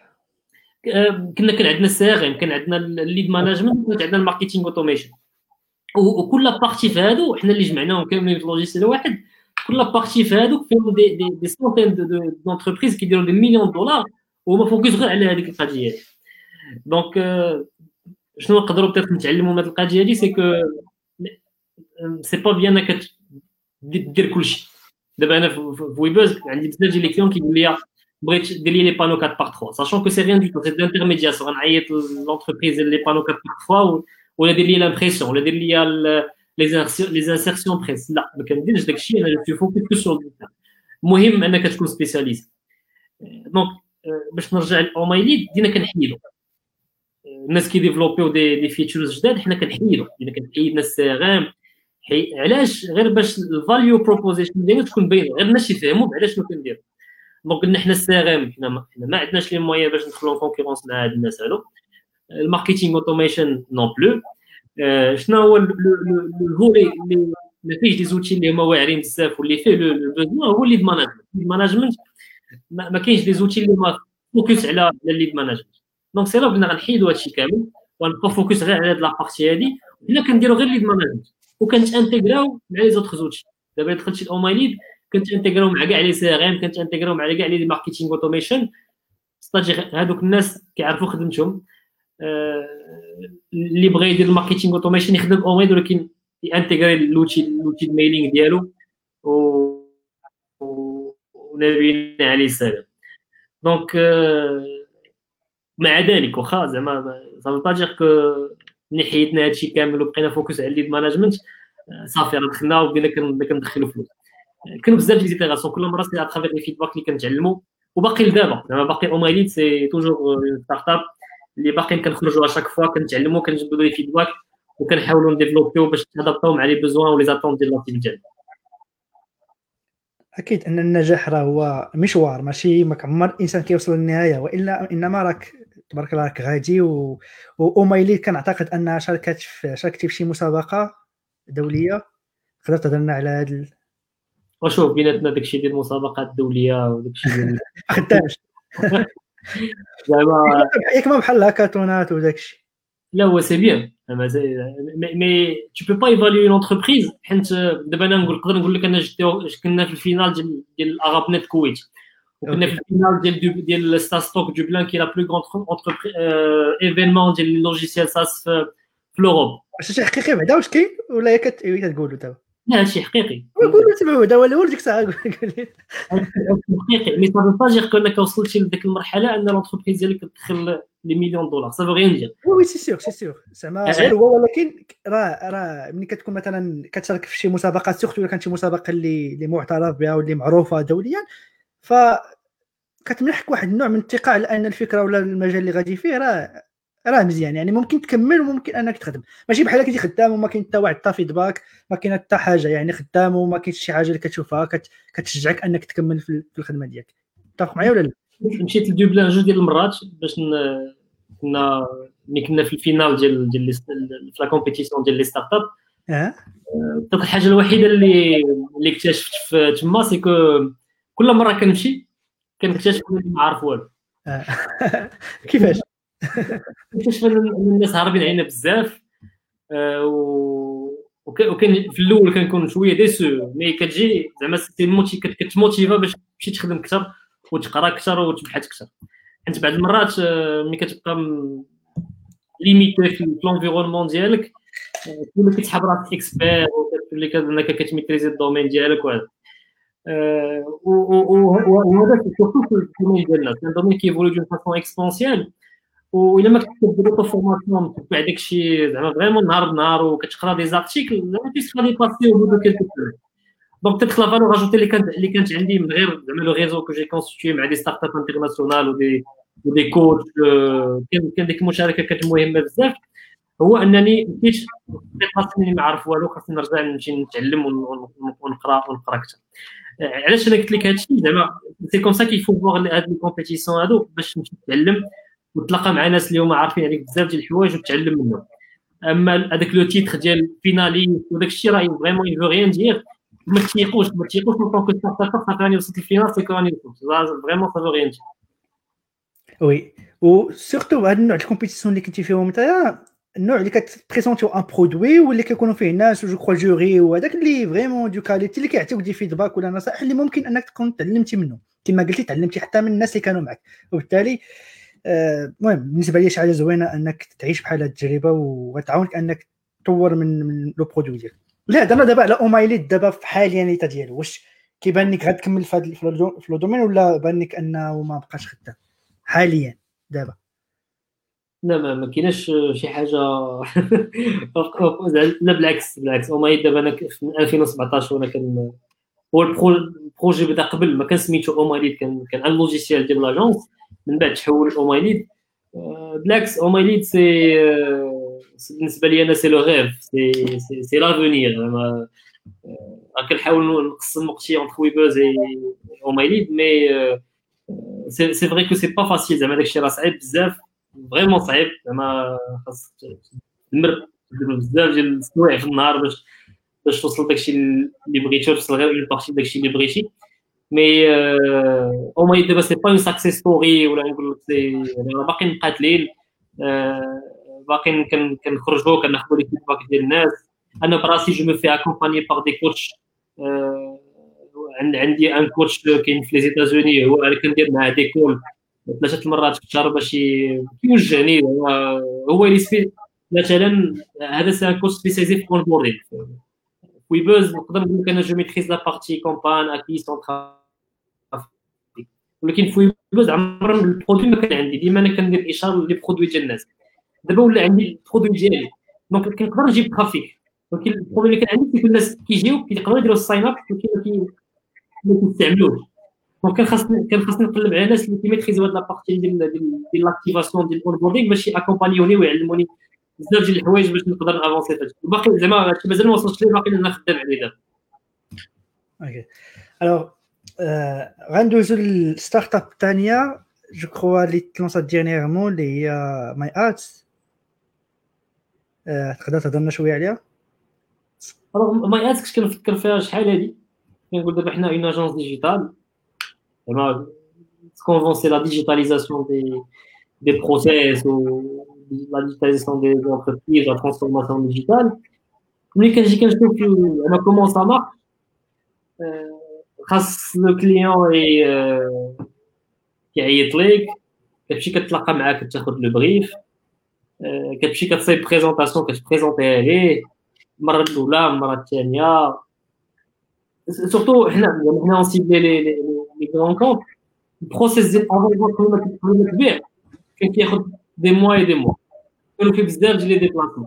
كنا كان عندنا السي ار ام، كان عندنا الليد مانجمنت، كان عندنا الماركتينغ اوتوميشن، وكل بارتي في هادو حنا اللي جمعناهم كاملين في لوجيسيال واحد. كل بارتي في هادو فيهم دي دي دي سونتين دو دونتربريز كيديروا دي مليون دولار وهما فوكس غير على هذيك القضيه. دونك شنو نقدروا بيتيت نتعلموا من هذه القضيه هذه؟ سي كو سي با بيان انك دير كلشي. دابا انا في ويبوز عندي بزاف ديال لي كليون كيقول لي بغيت دير لي لي بانو أربعة باغ ثلاثة، ساشون كو سي ريان دو تو، سي دانترميدياسيون. غنعيط لونتربريز لي بانو أربعة باغ ثلاثة ولا دير لي لامبريسيون ولا دير لي لي انسيرسيون بريس. لا ما كنديرش داكشي، انا جو فوكس كو سور الديتا. المهم انك تكون سبيسياليست. دونك باش نرجع لاومايليد دينا كنحيدو الناس كي ديفلوبيو دي دي فيتشرز جداد، حنا كنحيدو دينا كنحيدنا السي ار ام. علاش؟ غير باش الفاليو بروبوزيشن ديالنا تكون باينه، غير الناس يفهموا على شنو كندير. دونك قلنا حنا السي ار ام حنا ما عندناش لي مويان باش ندخلوا كونكورونس مع هاد الناس هادو. الماركتينغ اوتوميشن نون بلو. شنو هو الفولي اللي ما فيهش دي زوتي اللي هما واعرين بزاف واللي فيه لو بوزوان هو الليد مانجمنت. الليد مانجمنت ما كاينش دي زوتي اللي ما فوكس على الليد مانجمنت. دونك سي لا قلنا غنحيدوا هادشي كامل ونبقى فوكس غير على هاد لابارتي هادي، ولا كنديروا غير ليد مانجمنت وكانت انتغراو مع لي زوتر زوتي. دابا دخلت شي اومايليد كنت انتغراو مع كاع لي سي ار ام، كنت انتغراو مع كاع لي ماركتينغ اوتوميشن. ستاجي هادوك الناس كيعرفوا خدمتهم. اللي بغى يدير الماركتينغ اوتوميشن يخدم اومايد ولكن يانتغري لوتي لوتي الميلينغ ديالو و ونبينا عليه السلام. دونك مع ذلك واخا زعما صافي با دير كو ملي حيدنا هادشي كامل وبقينا فوكس على الليد مانجمنت صافي راه دخلنا وبدينا كندخلوا فلوس. كانوا بزاف ديال ليزيتيراسيون كل مره سي اترافير لي فيدباك اللي كنتعلموا. وباقي لدابا زعما باقي اومايليد سي توجور ستارت اب اللي باقيين كنخرجوا اشاك فوا كنتعلموا كنجبدوا لي فيدباك وكنحاولوا نديفلوبيو باش نادابطاو مع لي بوزوان ولي زاتون ديال لاكتيفيتي. اكيد ان النجاح راه هو مشوار، ماشي ما كعمر الانسان كيوصل للنهايه، والا انما راك تبارك الله راك غادي. و اومايليد كنعتقد انها شاركت في شاركتي في شي مسابقه دوليه. تقدر تهضر لنا على هذا ال... وشوف بيناتنا داكشي ديال المسابقات الدوليه وداكشي ديال ما خدامش زعما ياك ما بحال الهاكاطونات وداكشي. لا هو سي بيان مي tu peux pas évaluer une entreprise. حيت دابا انا نقول نقدر نقول لك انا كنا في الفينال ديال ديال اراب نت كويت وكنا في الفينال ديال ديال ستاستوك دوبلان كي لا بلو غروند انتربريز ايفينمون ديال اللوجيسيال ساس في لوروب. واش شي حقيقي بعدا واش كاين ولا هي كتقولوا دابا؟ لا هادشي حقيقي. قولوا تبعوا دابا الاول ديك الساعه قول لي حقيقي مي صافي با دير كونك وصلتي لديك المرحله ان لونتربريز ديالك كتدخل لي مليون دولار صافي غير ندير. وي سي سيغ سي سيغ زعما غير هو. ولكن راه راه ملي كتكون مثلا كتشارك في شي مسابقات سورتو الا كانت شي مسابقه اللي اللي معترف بها واللي معروفه دوليا ف كتمنحك واحد النوع من الثقه على ان الفكره ولا المجال اللي غادي فيه راه راه مزيان. يعني ممكن تكمل وممكن انك تخدم، ماشي بحال كنتي خدام وما كاين حتى واحد حتى فيدباك، ما كاين حتى حاجه. يعني خدام وما كاينش شي حاجه اللي كتشوفها كت... كتشجعك انك تكمل في الخدمه ديالك. تتفق معايا ولا لا؟ مشيت لدوبلان جوج ديال المرات باش كنا ملي كنا في الفينال ديال ديال في لا كومبيتيسيون ديال لي ستارت اب. اه دونك الحاجه الوحيده اللي اللي اكتشفت في تما سي كو كل مره كنمشي كنكتشف انني ما عارف والو. كيفاش؟ كنكتشف ان الناس هاربين علينا بزاف، وكان في الاول كنكون شويه ديسو، مي كتجي زعما سي موتي كتموتيفا باش تمشي تخدم اكثر وتقرا اكثر وتبحث اكثر. حيت بعض المرات ملي كتبقى ليميتي في الانفيرونمون ديالك تولي كتحب راسك اكسبير وكتولي كانك كتميتريزي الدومين ديالك وهذا. وهذا سورتو في الدومين ديالنا، كان دومين كيفولي دون فاسون اكسبونسيال، وإلا ما كنتش كدير لو فورماسيون تبع داكشي زعما فريمون نهار بنهار وكتقرا دي زارتيكل زعما كيسخا لي باسي او بو كيلكو سيمين. دونك تيت لا فالور اجوتي اللي كانت اللي كانت عندي من غير زعما لو ريزو كو جي كونستيتيي مع دي ستارت اب انترناسيونال ودي ودي كوتش، كان كان ديك المشاركه كانت مهمه بزاف، هو انني مشيت خاصني ما عارف والو، خاصني نرجع نمشي نتعلم ونقرا ونقرا اكثر. علاش انا قلت لك هادشي زعما سي كوم سا كيفو فوغ هاد لي كومبيتيسيون هادو باش تمشي تتعلم وتلاقى مع ناس اللي هما عارفين عليك بزاف ديال الحوايج وتتعلم منهم. اما هذاك لو تيتر ديال فيناليست وداك الشيء راه فريمون يفو ريان دير، ما تيقوش ما تيقوش من طونك ستارت اب صافي راني وصلت للفينال سي راني وصلت فريمون سافو ريان دير. وي وسورتو هاد النوع ديال الكومبيتيسيون اللي كنتي فيهم نتايا، النوع اللي كتبريزونتيو ان برودوي واللي كيكونوا فيه ناس جو كرو جوري وهذاك اللي فريمون دو كاليتي اللي كيعطيوك دي فيدباك ولا نصائح اللي ممكن انك تكون تعلمتي منه كما قلتي، تعلمتي حتى من الناس اللي كانوا معك. وبالتالي المهم آه بالنسبه لي شي حاجه زوينه انك تعيش بحال هاد التجربه وغتعاونك انك تطور من من لو برودوي ديالك. لا دابا دابا على اومايليت دابا في حاليا نيتا ديالو، واش كيبان لك غتكمل في هذا في لو دومين ولا بان لك انه ما بقاش خدام حاليا دابا؟ لا ما ما كايناش شي حاجه لا بالعكس بالعكس اومايليت دابا انا في ألفين وسبعطاش وانا كان هو البروجي بدا قبل ما كان سميتو اومايليت، كان كان ان لوجيسيال ديال لاجونس، من بعد تحول اومايليت. بالعكس اومايليت سي بالنسبه لي انا سي لو ريف، سي سي سي لافونير. زعما كنحاول نقسم وقتي اونتر ويبوز اي اومايليت، مي سي سي فري كو سي با فاسيل. زعما داكشي راه صعيب بزاف، فريمون صعيب. زعما خاص تمر بزاف ديال السوايع في النهار باش باش توصل داكشي اللي بغيتي، توصل غير اون بارتي داكشي اللي بغيتي. مي او ماي دابا سي با اون ساكسيس ستوري ولا نقول لك سي باقيين مقاتلين، باقيين كنخرجوا كناخذوا لي فيدباك ديال الناس. انا براسي جو مو في اكومباني بار دي كوتش، عندي ان كوتش كاين في لي زيتازوني، هو انا كندير معاه دي كول ثلاثه المرات في الشهر باش يوجهني. هو اللي سبي مثلا هذا سي ان كوتش سبيسياليزي في اونبوردين ويبوز. نقدر نقول لك انا جو ميتريز لا بارتي كومبان اكي سونترا، ولكن في ويبوز عمر البرودوي ما كان عندي، ديما انا كندير اشاره لي برودوي ديال الناس. دابا ولا عندي البرودوي ديالي دونك كنقدر نجيب ترافيك، ولكن البروبليم اللي كان عندي كل الناس كيجيو كيقدروا يديروا الساين اب ولكن ما كيستعملوش. دونك كان خاصني كان خاصني نقلب على ناس اللي كيميتريزيو هاد لابارتي ديال ديال لاكتيفاسيون ديال الاونبوردينغ باش ياكومبانيوني ويعلموني بزاف ديال الحوايج باش نقدر نافونسي فهادشي. باقي زعما هادشي مازال ما وصلتش ليه، باقي انا خدام عليه دابا. اوكي الوغ غندوزو للستارت اب الثانيه جو كرو اللي تلونسات ديرنييرمون اللي هي ماي ارتس. تقدر تهضر لنا شويه عليها؟ ماي ارتس كنت كنفكر فيها شحال هادي، كنقول دابا حنا اون اجونس ديجيتال زعما كونفونسي لا ديجيتاليزاسيون دي دي بروسيس و لا ديجيتاليزاسيون دي انتربريز، لا ترانسفورماسيون ديجيتال. ملي كنجي كنشوف انا كومون سا مارك، خاص لو كليون كيعيط ليك، كتمشي كتلاقى معاه كتاخذ لو بريف، كتمشي كتصايب بريزونطاسيون كتبريزونطيها ليه المره الاولى المره الثانيه. سورتو حنا حنا اون سيبلي لي لي غران كونت، البروسيس ديال افون قبل ما تبيع كان كياخذ دي موا اي دي موا، كانوا فيه بزاف ديال لي ديبلاسمون.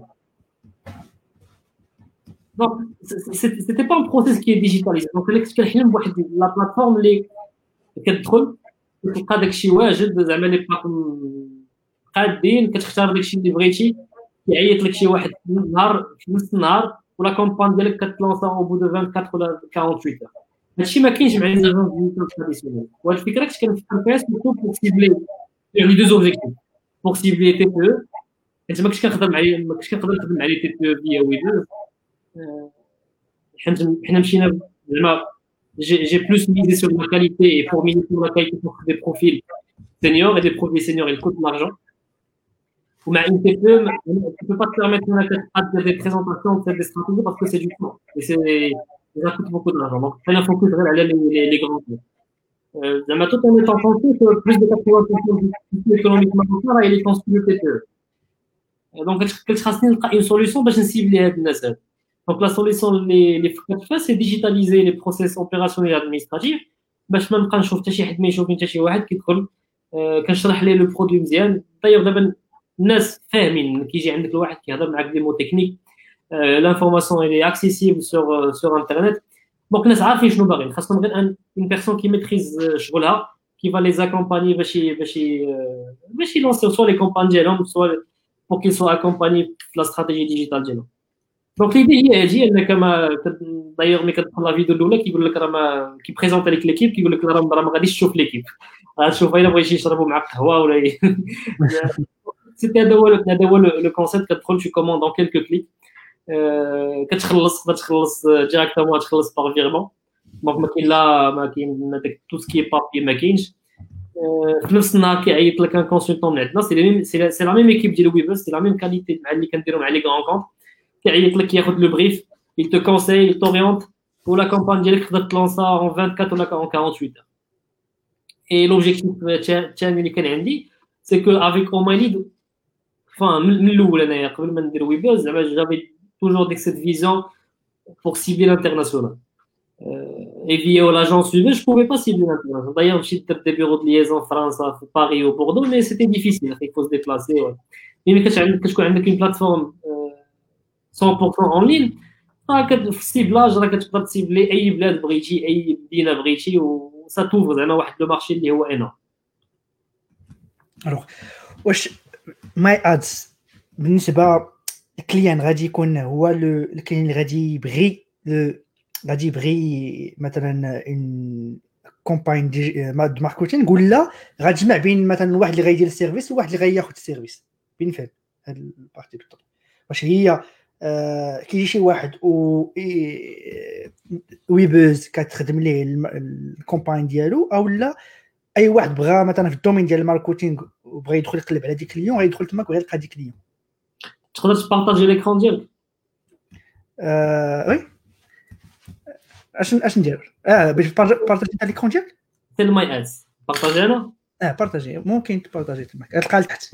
دونك سيتي با ان بروسيس كي ديجيتاليزي. دونك الا كنت كنحلم بواحد لا بلاتفورم اللي كتدخل كتلقى داكشي واجد، زعما لي بلاطفورم قادين، كتختار داكشي اللي بغيتي، كيعيط لك شي واحد في النهار في نص النهار ولا كومبان ديالك كتلونسا او بو دو أربعة وعشرين ولا أربعة وأربعين. هادشي ما كاينش مع لي زاجونس ديجيتال تراديسيونيل. وهاد الفكره كنت كنفكر فيها سورتو بور سيبلي يعني دو زوبجيكتيف بور سيبلي تي بي، حيت ما كنتش كنخدم مع ما كنتش كنقدر نخدم مع لي تي بي فيا ويبوز. حنا حنا مشينا زعما j'ai plus misé sur la qualité et pour miser sur la qualité pour des profils seniors et des profils seniors ils coûtent de l'argent. Ou مع une T P E tu peux pas te permettre de faire des présentations de faire des stratégies parce que c'est du temps et c'est ça coûte beaucoup d'argent. Donc حنا focus غير على les les grands comptes. زعما tout en étant conscient que plus de quatre-vingts pour cent du économique marocain il est constitué de T P E. Donc كنت خاصني نلقى une solution باش نسيبلي هاد الناس هاد. Donc la solution اللي اللي فكرت فيها c'est digitaliser les process opérationnels administratifs باش ما نبقى نشوف حتى شي حد ما يشوفني حتى شي واحد كيدخل كنشرح ليه لو برودوي مزيان. دايوغ دابا الناس فاهمين كيجي عندك الواحد كيهضر معاك دي مو تكنيك لانفورماسيون اللي اكسيسيبل سور سور انترنت. دونك الناس عارفين شنو باغيين خاصهم غير ان اون بيرسون كي ميتريز شغلها كي فا لي زاكومباني باش باش باش يلونسيو سوا لي كومباني ديالهم سوا pour qu'ils soient accompagnés de la stratégie digitale ديالهم. Donc l'idée هي هادي انك ما دايوغ ملي كتدخل لا فيديو الاولى كيقول لك راه ما كيبريزونطي لك ليكيب كيقول لك راه ما غاديش تشوف ليكيب غتشوف الا بغيتي يشربوا معاك قهوه ولا سيتي هذا هو هذا هو لو كونسيبت. كتدخل tu commandes dans quelques clics كتخلص كتخلص ديريكتومون تخلص باغ فيرمون. دونك ما كاين لا ما كاين داك تو سكي بابي ما كاينش. في نفس النهار كيعيط لك ان كونسلتون من عندنا سي ميم سي لا ميم ايكيب ديال ويبوس سي لا ميم كاليتي مع اللي كنديروا مع لي غران كونط. كيعيط لك ياخذ لو بريف il te conseille il t'oriente pour la campagne ديالك تقدر تلونسا en vingt-quatre ولا en quarante-huit heures. et l'objectif الثاني اللي كان عندي c'est que avec Omailid enfin من الاول انايا قبل ما ندير ويبوس زعما جافي toujours ديك cette vision pour cibler l'international. Et via l'agence Uber, je ne pouvais pas cibler l'international. D'ailleurs, j'ai des bureaux de liaison en France, à Paris ou Bordeaux, mais c'était difficile. Il faut se déplacer. Ouais. Mais quand tu as une plateforme euh, cent pour cent en ligne, le ciblage, tu peux cibler أي بلاد بغيتي أي مدينة بغيتي و ça t'ouvre زعما واحد لو مارشي اللي هو énorme. Alors, واش ماي ادز بالنسبة الكليان غادي يكون هو الكليان اللي غادي يبغي غادي يبغي مثلا ان كومباين دي ماركتينغ ولا غتجمع بين مثلا واحد اللي غيدير السيرفيس وواحد اللي غياخذ السيرفيس بين فين هاد البارتي بالضبط. واش هي آه كيجي شي واحد و ويبوز كتخدم ليه الكومباين ديالو او لا اي واحد بغى مثلا في الدومين ديال الماركتينغ وبغى يدخل يقلب على دي كليون غيدخل تماك وغيلقى دي كليون. تقدر تبارطاجي ليكران ديالك؟ اه وي اش اش ندير اه باش بارطاجي تاع ليكرون ديالك سي ماي ادز بارطاجي انا اه بارطاجي ممكن تبارطاجي تماك تلقى لتحت.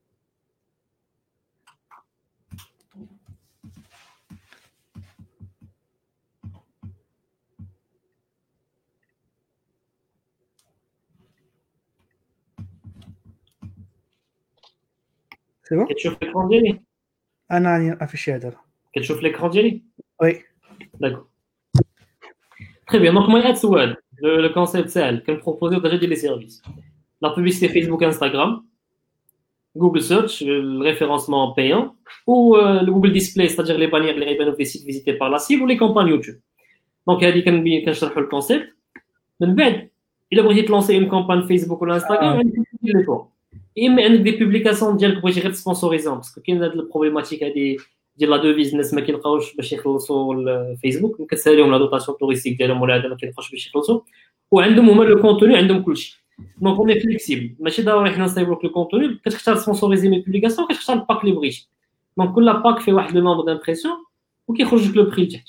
سي بون كتشوف ليكران ديالي انا راني افيشي هذا كتشوف ليكران ديالي وي داكور très bien. Donc moi ads web le, le concept c'est que me proposer déjà des services la publicité Facebook Instagram Google Search le référencement payant ou euh, le Google Display c'est-à-dire les bannières les révélations des sites visités par la cible ou les campagnes YouTube. Donc هذه كان كنشرحوا الكونسيبت من بعد الا بغيتي تلونسي une campagne Facebook ولا Instagram عندك لي فوا اما عندك دي بوبليكاسيون ديالك بغيتي غير سبونسوريزون باسكو كاين هاد البروبليماتيك هذه ديال لا دوفيز الناس ما كيلقاوش باش يخلصوا الفيسبوك كتساليهم لا دوطاسيون توريستيك ديالهم ولا هذا ما كيلقاوش باش يخلصوا وعندهم هما لو كونتوني عندهم كلشي. دونك اوني فليكسيبل ماشي ضروري حنا نصايبوك لو كونتوني كتختار سبونسوريزي مي بوبليكاسيون كتختار الباك اللي بغيتي. دونك كل باك فيه واحد لو نومبر دامبريسيون وكيخرج لك لو بري لتحت.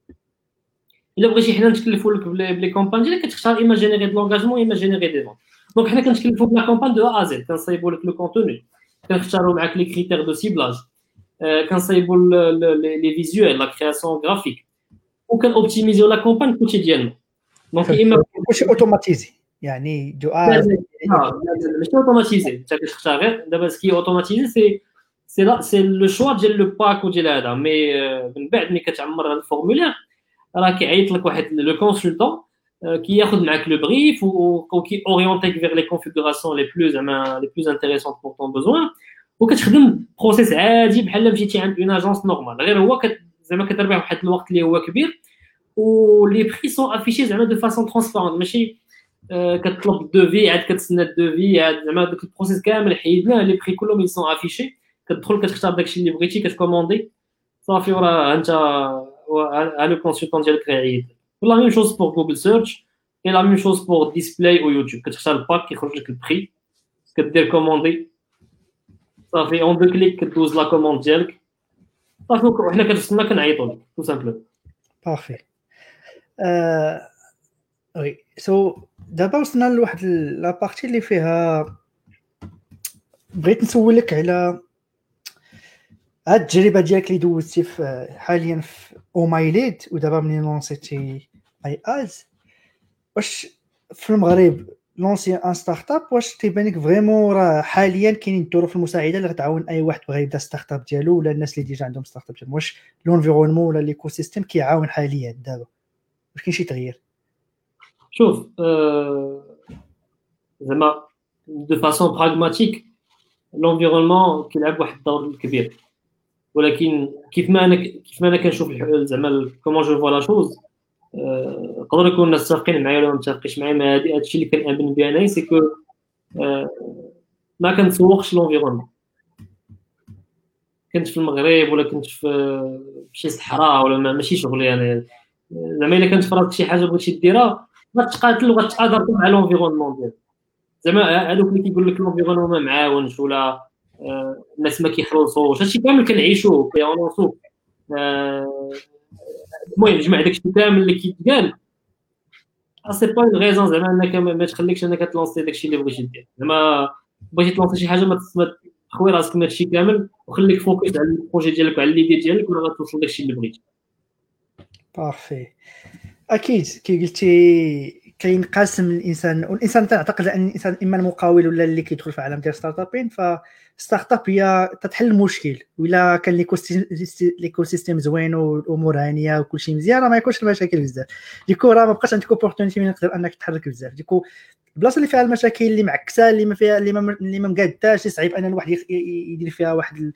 الا بغيتي حنا نتكلفوا لك بلي كومباني ديالك كتختار اما جينيري دو لونغاجمون اما جينيري دي فون. دونك حنا كنتكلفوا بلا كومباني دو ا زد كنصايبوا لك لو كونتوني كنختاروا معاك لي كريتير دو سيبلاج كنصايبوا لي فيزيوال لا كرياسيون غرافيك وكنوبتيميزيو لا كومباني كوتيديانمون. دونك اما كلشي اوتوماتيزي يعني دو ا ماشي اوتوماتيزي انت كتختار غير دابا سكي اوتوماتيزي سي سي لا سي لو شوا ديال لو باك وديال هذا مي من بعد ملي كتعمر هذا الفورمولير راه كيعيط لك واحد لو كونسلتون كياخذ معاك لو بريف وكي اورينتيك فيغ لي كونفيغوراسيون لي بلوز زعما لي بلوز انتريسونت بور طون بوزوان وكتخدم بروسيس عادي بحال مشيتي عند اون اجونس نورمال غير هو كت زعما كتربح واحد الوقت اللي هو كبير ولي بري سون افيشي زعما دو فاسون ترانسبارونت ماشي آه كتطلب الدوفي عاد كتسنى الدوفي عاد زعما داك البروسيس كامل حيدناه لي بري كلهم يسون افيشي كتدخل كتختار داكشي اللي بغيتي كتكوموندي صافي وراه انت ها لو كونسلتون ديالك غيعيط. لا ميم شوز بور جوجل سيرش et la même chose pour display au YouTube. كتختار الباك كيخرج لك البري كدير كوموندي صافي اون دو كليك كدوز لا كوموند ديالك صافي وحنا كنتسنى كنعيطوا لك تو سامبلو. بارفي. وي سو دابا وصلنا لواحد لا بارتي اللي فيها بغيت نسولك على هاد التجربه ديالك اللي دوزتي في حاليا في اومايليد ودابا منين لونسيتي اي از. واش في المغرب لونسي ان ستارت اب واش تيبان لك فريمون راه حاليا كاينين الظروف المساعده اللي غتعاون اي واحد بغى يبدا ستارت اب ديالو ولا الناس اللي ديجا عندهم ستارت اب ديالهم؟ واش لونفيرونمون ولا ليكو سيستيم كيعاون حاليا دابا؟ واش كاين شي تغيير؟ شوف زعما دو فاسون براغماتيك لونفيرونمون كيلعب واحد الدور كبير ولكن كيف ما انا كيف ما انا كنشوف زعما كومون جو فوا لا شوز يقدر يكون الناس متفقين معايا ولا ما متفقينش معايا. ما هذا الشيء اللي كنامن به انا سي كو ما كنتسوقش لونفيرونمون. كنت في المغرب ولا كنت في شي صحراء ولا ماشي شغلي انا زعما الا كنت فرضت شي حاجه بغيتي ديرها غتقاتل وغتقادر مع لونفيرونمون ديالك. زعما هذوك اللي كيقول لك لونفيرونمون ما معاونش ولا الناس ما كيخلصوش هادشي كامل كنعيشوه كيونسو. المهم جمع داكشي كامل اللي كيتقال سي با اون ريزون زعما انك ما تخليكش انك تلونسي داكشي اللي بغيتي دير. زعما بغيتي تلونسي شي حاجه ما تخوي راسك من هادشي كامل وخليك فوكس على البروجي ديالك وعلى ليدي ديالك ولا غتوصل داكشي اللي بغيتي. بارفي. اكيد كي قلتي كينقسم الانسان والانسان تعتقد ان الانسان اما المقاول ولا اللي كيدخل في عالم ديال ستارت ابين. فستارت اب هي تتحل المشكل ولا كان ليكو سيستيم زوين والامور هانيه وكل شيء مزيان ما يكونش المشاكل بزاف. ديكو راه ما بقاش عندك اوبورتونيتي من تقدر انك تحرك بزاف. ديكو البلاصه اللي فيها المشاكل اللي معكسه اللي ما فيها اللي ما اللي ما مقاداش صعيب ان الواحد يدير فيها واحد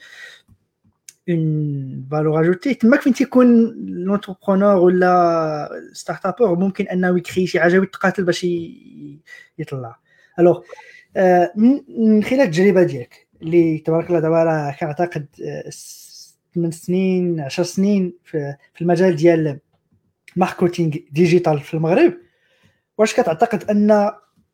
اون فالور اجوتي. تماك فين تيكون لونتربرونور ولا ستارت ابور ممكن انه يكري شي حاجه ويتقاتل باش يطلع. الوغ من خلال التجربه ديالك اللي تبارك الله دابا راه كنعتقد ثمان سنين عشر سنين في المجال ديال ماركتينغ ديجيتال في المغرب، واش كتعتقد ان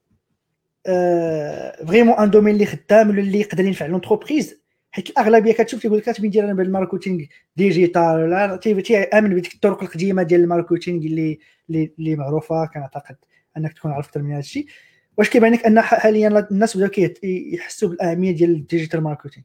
فريمون ان دومين اللي خدام ولا اللي يقدر ينفع لونتربريز؟ حيت الاغلبيه كتشوف تيقول لك كتبين دير انا بالماركتينغ ديجيتال ولا تيامن بديك الطرق القديمه ديال الماركتينغ اللي اللي معروفه. كنعتقد انك تكون عرفت من هذا الشيء. واش كيبان لك ان حاليا الناس بداو كيحسوا بالاهميه ديال الديجيتال ماركتينغ؟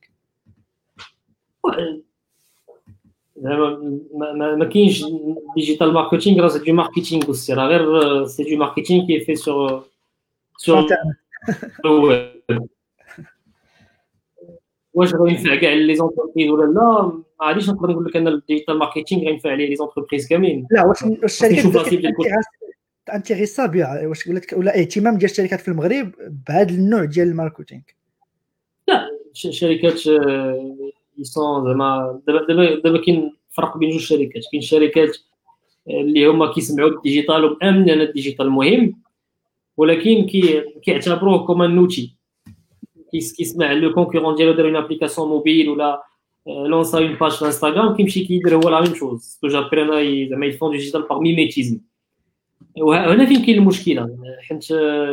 ما ما كاينش ديجيتال ماركتينغ راه سي دو ماركتينغ وسي راه غير سي دو ماركتينغ كي في سور سور واش غينفع كاع لي زونتربريز ولا لا؟ ما غاديش نقدر نقول لك ان الديجيتال ماركتينغ غينفع عليه لي زونتربريز كاملين. لا واش الشركات انتيريسا بها واش قلت لك ولا اهتمام ديال الشركات في المغرب بهذا النوع ديال الماركتينغ؟ لا الشركات يسون زعما دابا دابا كاين فرق بين جوج شركات. كاين شركات اللي هما كيسمعوا بالديجيتال ومامنين ان الديجيتال مهم ولكن كي كيعتبروه كوم نوتي كيسمع لو كونكورون ديالو دار اون ابليكاسيون موبيل ولا لونسا اون باج في انستغرام كيمشي كيدير هو لا ميم شوز كو جابرينا زعما يفون ديجيتال باغ ميميتيزم. وهنا فين كاين المشكله حيت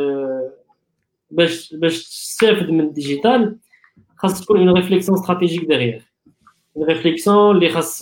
باش باش تستافد من الديجيتال خاص تكون اون ريفليكسيون استراتيجيك ديغيغ اون ريفليكسيون اللي خاص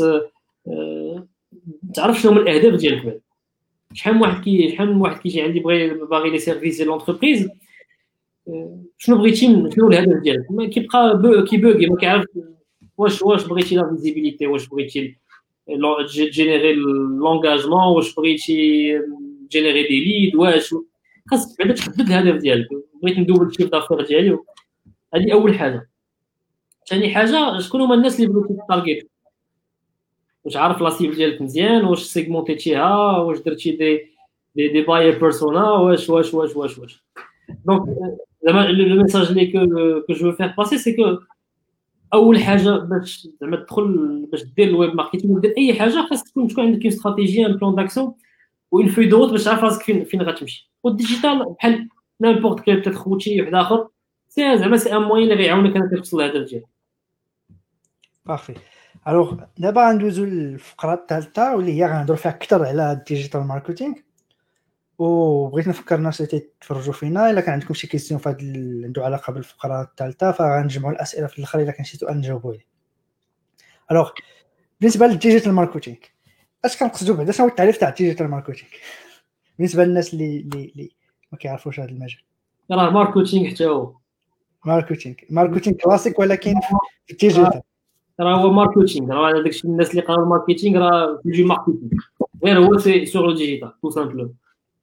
تعرف شنو هما الاهداف ديالك. شحال من واحد كي شحال من واحد كيجي عندي بغي باغي لي سيرفيس ديال لونتربريز شنو بغيتي شنو الهدف ديالك ما كيبقى كيبوغي ما كيعرف واش واش بغيتي لا فيزيبيليتي واش بغيتي جينيري لونغاجمون واش بغيتي جينيري دي ليد واش خاصك بعدا تحدد الهدف ديالك. بغيت ندوبل الشيف دافير ديالي هذه اول حاجه. ثاني حاجه شكون هما الناس اللي بغيتي تارجيت واش عارف لا سيب ديالك مزيان واش سيغمونتيتيها واش درتي دي دي دي باير بيرسونا واش واش واش واش واش دونك زعما لو ميساج اللي كو جو فير باسي سي كو اول حاجه باش زعما تدخل باش دير الويب ماركتينغ دير اي حاجه خاص تكون تكون عندك استراتيجيه ان بلان داكسيون وين في دوت باش تعرف راسك فين فين غتمشي. والديجيتال بحال نيمبورط كيل بتات خوتي واحد اخر سي زعما سي ان موين اللي غيعاونك انك توصل للهدف ديالك. بارفي. الوغ دابا غندوزو للفقره الثالثه واللي هي غنهضروا فيها اكثر على الديجيتال ماركتينغ. وبغيت نفكر الناس اللي تيتفرجوا فينا الا كان عندكم شي كيسيون في هذا اللي عنده علاقه بالفقره الثالثه فغنجمعوا الاسئله في الاخر الا كان شي سؤال نجاوبوا عليه. الوغ بالنسبه للديجيتال ماركتينغ اش كنقصدوا بعدا؟ شنو هو التعريف تاع الديجيتال ماركتينغ بالنسبه للناس اللي اللي, اللي ما كيعرفوش هذا المجال؟ راه ماركتينغ حتى هو ماركتينغ ماركتينغ كلاسيك ولكن في الديجيتال. راه هو ماركتينغ، راه هذاك الشيء الناس اللي قراو الماركتينغ راه كيجي ماركتينغ، غير هو سي سور لو ديجيتال تو سامبلو.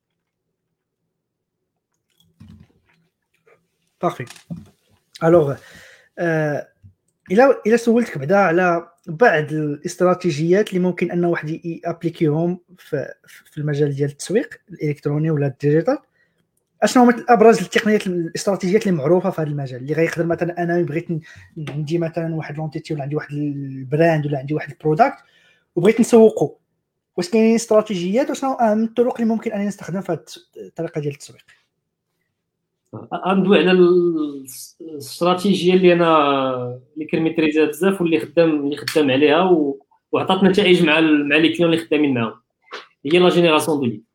بارفي. الوغ آه الى الى سولتك بعدا على بعض الاستراتيجيات اللي ممكن ان واحد يابليكيهم في في المجال ديال التسويق الالكتروني ولا الديجيتال، اشنو هما ابرز التقنيات الاستراتيجيات اللي معروفه في هذا المجال اللي غيقدر مثلا انا بغيت عندي مثلا واحد لونتيتي ولا عندي واحد البراند ولا عندي واحد البرودكت وبغيت نسوقه، واش كاينين استراتيجيات وشنو اهم الطرق اللي ممكن ان نستخدم في هذه الطريقه ديال التسويق؟ غندوي على الاستراتيجيه اللي انا اللي كنميتريزها بزاف واللي خدام اللي خدام عليها و... وعطات نتائج مع ال... مع لي كليون اللي خدامين معاهم، هي لا جينيراسيون دو ليد.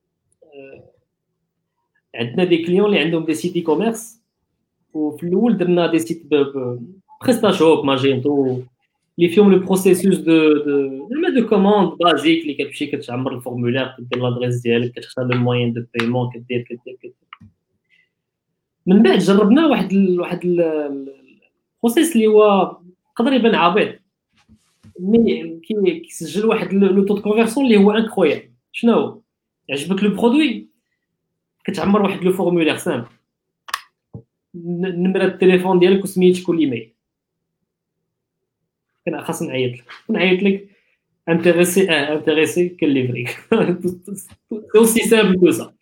عندنا دي كليون اللي عندهم دي سيت اي كوميرس، وفي الاول درنا دي سيت بريستا شوب ماجينتو اللي فيهم لو بروسيسوس دو دو زعما دو كوموند بازيك اللي كتمشي كتعمر الفورمولير كدير لادريس ديالك كتختار لو موين دو بايمون كدير كدير كدير. من بعد جربنا واحد ال واحد البروسيس اللي هو يقدر يبان عبيط مي كيسجل واحد لو تو كونفيرسيون اللي هو انكرويابل. شنو هو؟ يعجبك لو برودوي كتعمر واحد لو فورمولير سامبل، نمره التليفون ديالك وسميتك والايميل. كان خاص نعيط لك نعيط لك انتريسي اه انتريسي كنليفريك اوسي سامبل كو سا.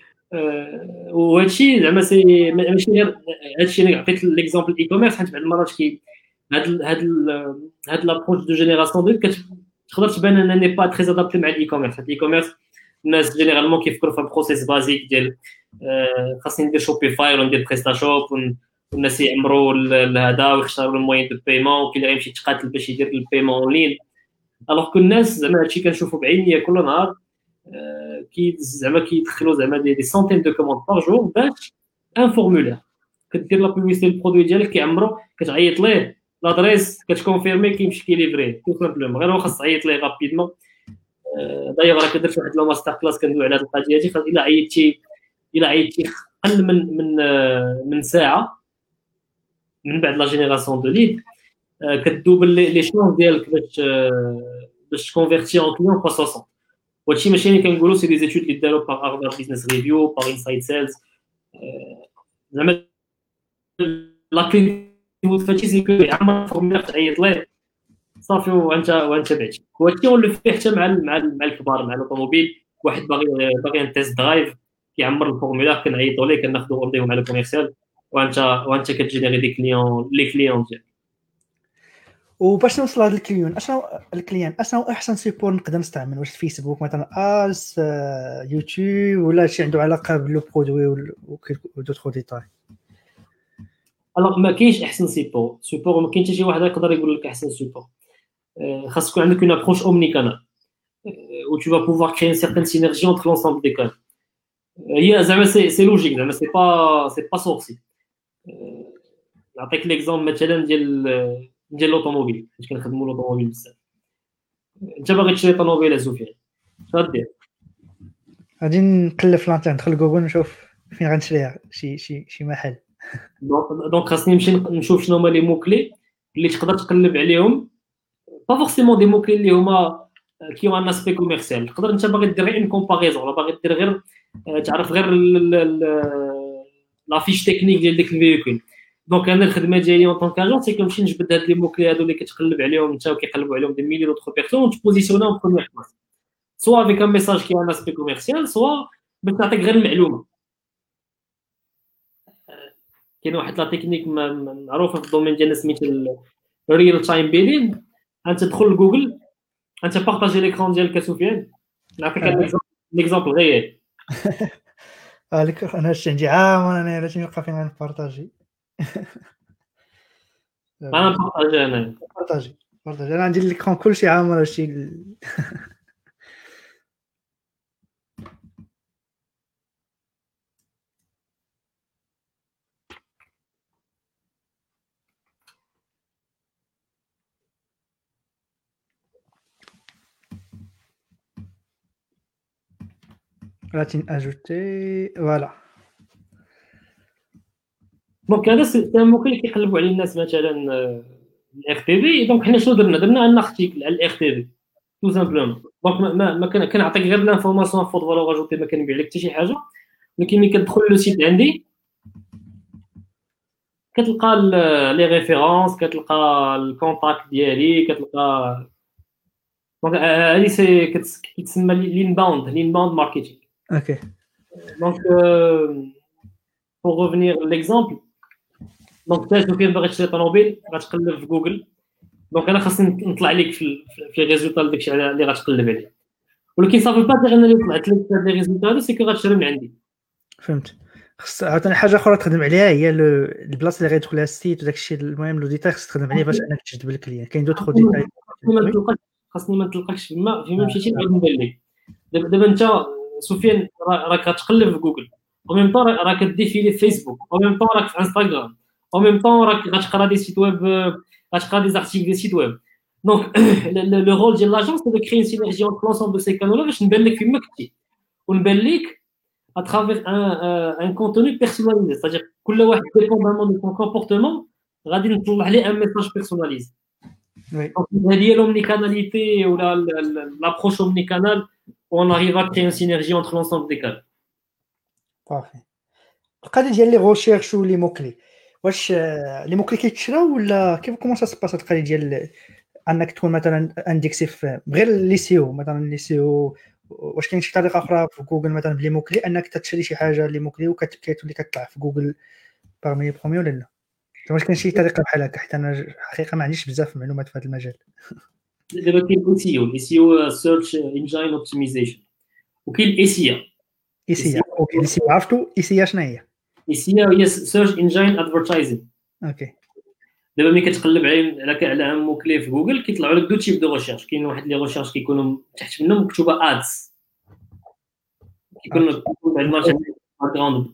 وهادشي زعما سي ماشي غير هادشي. انا عطيت ليكزامبل اي كوميرس حيت بعض المرات كي هاد هاد هاد لابروش دو جينيراسيون دو كتقدر تبان انني ني با تري ادابتي مع الاي كوميرس. الاي كوميرس الناس جينيرالمون كيفكروا في البروسيس بازيك ديال خاصني ندير شوبيفاي ولا ندير بريستا شوب والناس يعمروا هذا ويختاروا الموين دو بايمون وكاين اللي غيمشي يتقاتل باش يدير البايمون اون لين. الوغ كو الناس زعما هادشي كنشوفوا بعينيا كل نهار كي زعما كيدخلوا زعما دي سونتين دو كوموند بار جور باش ان فورمولير كدير لا بوبليسيتي البرودوي ديالك كيعمرو كتعيط ليه لادريس كتكونفيرمي كيمشي كيليفري تو سامبلومون غير هو خاص تعيط ليه رابيدمون. دايوغ راه كدرت واحد لو ماستر كلاس كندوي على هاد القضيه هادي. الا عيطتي الا عيطتي اقل من من من ساعه من بعد لا جينيراسيون دو ليد كدوبل لي شونس ديالك باش باش تكونفيرتي اون كليون فوا ستين. وهادشي ماشي اللي كنقولوا سي دي زيتود اللي داروا باغ هارفارد بيزنس ريفيو باغ انسايد سيلز. زعما لا كلي فهادشي سي كو عمر فورمولير تعيط ليه صافي وانت وانت بعتي. وهادشي هو اللي فيه حتى مع مع مع الكبار مع الاوتوموبيل. واحد باغي باغي ان تيست درايف كيعمر الفورمولير كنعيطوا ليه كناخذوا اورديو مع الكوميرسيال وانت وانت كتجينيري دي كليون لي كليون ديالك. وباش نوصل لهاد الكليون اشنو الكليان اشنو احسن سيبور نقدر نستعمل؟ واش فيسبوك مثلا اس يوتيوب ولا شي عنده علاقه بلو برودوي و دوطخ ديتاي؟ الوغ ما كاينش احسن سيبور سيبور ما كاينش شي واحد يقدر يقول لك احسن سيبور. خاص يكون عندك اون ابروش اومني كانال و tu vas pouvoir créer une certaine synergie entre l'ensemble des canaux. هي زعما سي سي لوجيك زعما سي با سي با سورسي. نعطيك ليكزامبل مثلا ديال ديال لوطوموبيل حيت كنخدموا لوطوموبيل بزاف. انت باغي تشري طوموبيله سفيان اش غدير؟ غادي نقلب في الانترنت ندخل جوجل نشوف فين غنشريها شي شي شي محل. دونك خاصني نمشي نشوف شنو هما لي مو كلي اللي تقدر تقلب عليهم با فورسيمون دي مو كلي اللي هما كي هو ان اسبي كوميرسيال. تقدر انت باغي دير غير اون كومباريزون ولا باغي دير غير تعرف غير لا فيش تكنيك ديال ديك الفيكول. دونك انا الخدمه ديالي اون طون كاجون سي كنمشي نجبد هاد لي مو كلي هادو اللي كتقلب عليهم انت وكيقلبوا عليهم دي ميلي دوطخ بيرسون وتبوزيسيوناهم بروميير بلاص سوا افيك ان ميساج كي ان اسبي كوميرسيال سوا باش تعطيك غير المعلومه. كاين واحد لا تكنيك معروفه في الدومين ديالنا سميتها الريل تايم بيلين. انت تدخل لجوجل انت بارطاجي ليكرون ديالك سفيان نعطيك ليكزامبل غير هذيك انا هادشي عندي عام وانا علاش نلقى فين غنبارطاجي انا بارطاجي انا بارطاجي برضه انا عندي ليكرون كلشي عامر شي ال... غادي اجوتي فوالا. دونك هذا سي ان موكل اللي كيقلبوا عليه الناس مثلا الاف تي في. دونك حنا شنو درنا درنا ان ارتيكل على الاف تي في تو سامبلومون. دونك ما ما كان كنعطيك غير لانفورماسيون فوت فالور اجوتي، ما كنبيع لك حتى شي حاجه. ولكن ملي كتدخل لو سيت عندي كتلقى لي ريفيرونس، كتلقى الكونتاكت ديالي، كتلقى دونك هذه سي كتسمى لين باوند لين باوند ماركتينغ. اوكي دونك pour revenir à l'exemple, دونك انت كي باغي تشري طوموبيل غتقلب في جوجل. دونك انا خاصني نطلع لك في في ريزولتا داكشي اللي غتقلب عليه. ولكن صافي با دير انا اللي طلعت لك هاد لي ريزولتا هادو سي كو غتشري من عندي. فهمت. خص عاوتاني حاجه اخرى تخدم عليها هي البلاصه اللي غيدخل لها السيت وداك الشيء. المهم لو ديتاي خص تخدم عليه باش انك تجذب الكليان. كاين دوطخ ديتاي ما نتلقاش خاصني ما نتلقاش فيما فيما مشيتي غادي ندير لك. دابا دابا انت سفيان راك غتقلب في جوجل، او ميم طون راك كديفيلي في فيسبوك، او ميم طون راك في انستغرام، او ميم طون راك غتقرا دي سيت ويب، غتقرا دي زارتيكل دي سيت ويب. دونك لو رول ديال لاجونس سي دو كري سينيرجي اونتر لونسومبل دو سي كانولا باش نبان لك فيما كنتي ونبان لك à travers un, euh, un contenu personnalisé. C'est-à-dire que كل واحد dépendamment de son comportement غادي نطلع عليه un message personnalisé. Oui. Donc هذه هي l'omnicanalité ou la l'approche omnicanale où on arrive à créer une synergie entre l'ensemble des canaux. صافي. القضيه ديال لي غوشيرش ولي موكلي، واش لي موكلي كيتشراو ولا كيف كومون سا سباس القضيه ديال انك تكون مثلا اندكسي في غير لي سيو مثلا لي سيو؟ واش كاين شي طريقه اخرى في جوجل مثلا بلي موكلي انك تشري شي حاجه لي موكلي وكتولي كتطلع في جوجل باغمي بروميو ولا لا؟ واش كاين شي طريقه بحال هكا؟ حيت انا حقيقه ما عنديش بزاف معلومات في هذا المجال. دابا كاين الاي سي او الاي سي او سيرش انجين اوبتيمايزيشن، وكاين الاي سي ا. اي سي اوكي اي سي عرفتو. اي سي شنو هي؟ اي سي ا هي سيرش انجين ادفرتايزينغ. اوكي. دابا ملي كتقلب على على على ان موكلي في جوجل كيطلعوا لك دو تيب دو ريشيرش. كاين واحد لي ريشيرش كيكونوا تحت منهم مكتوبه ادز، كيكون كيكون عندنا شي باكغراوند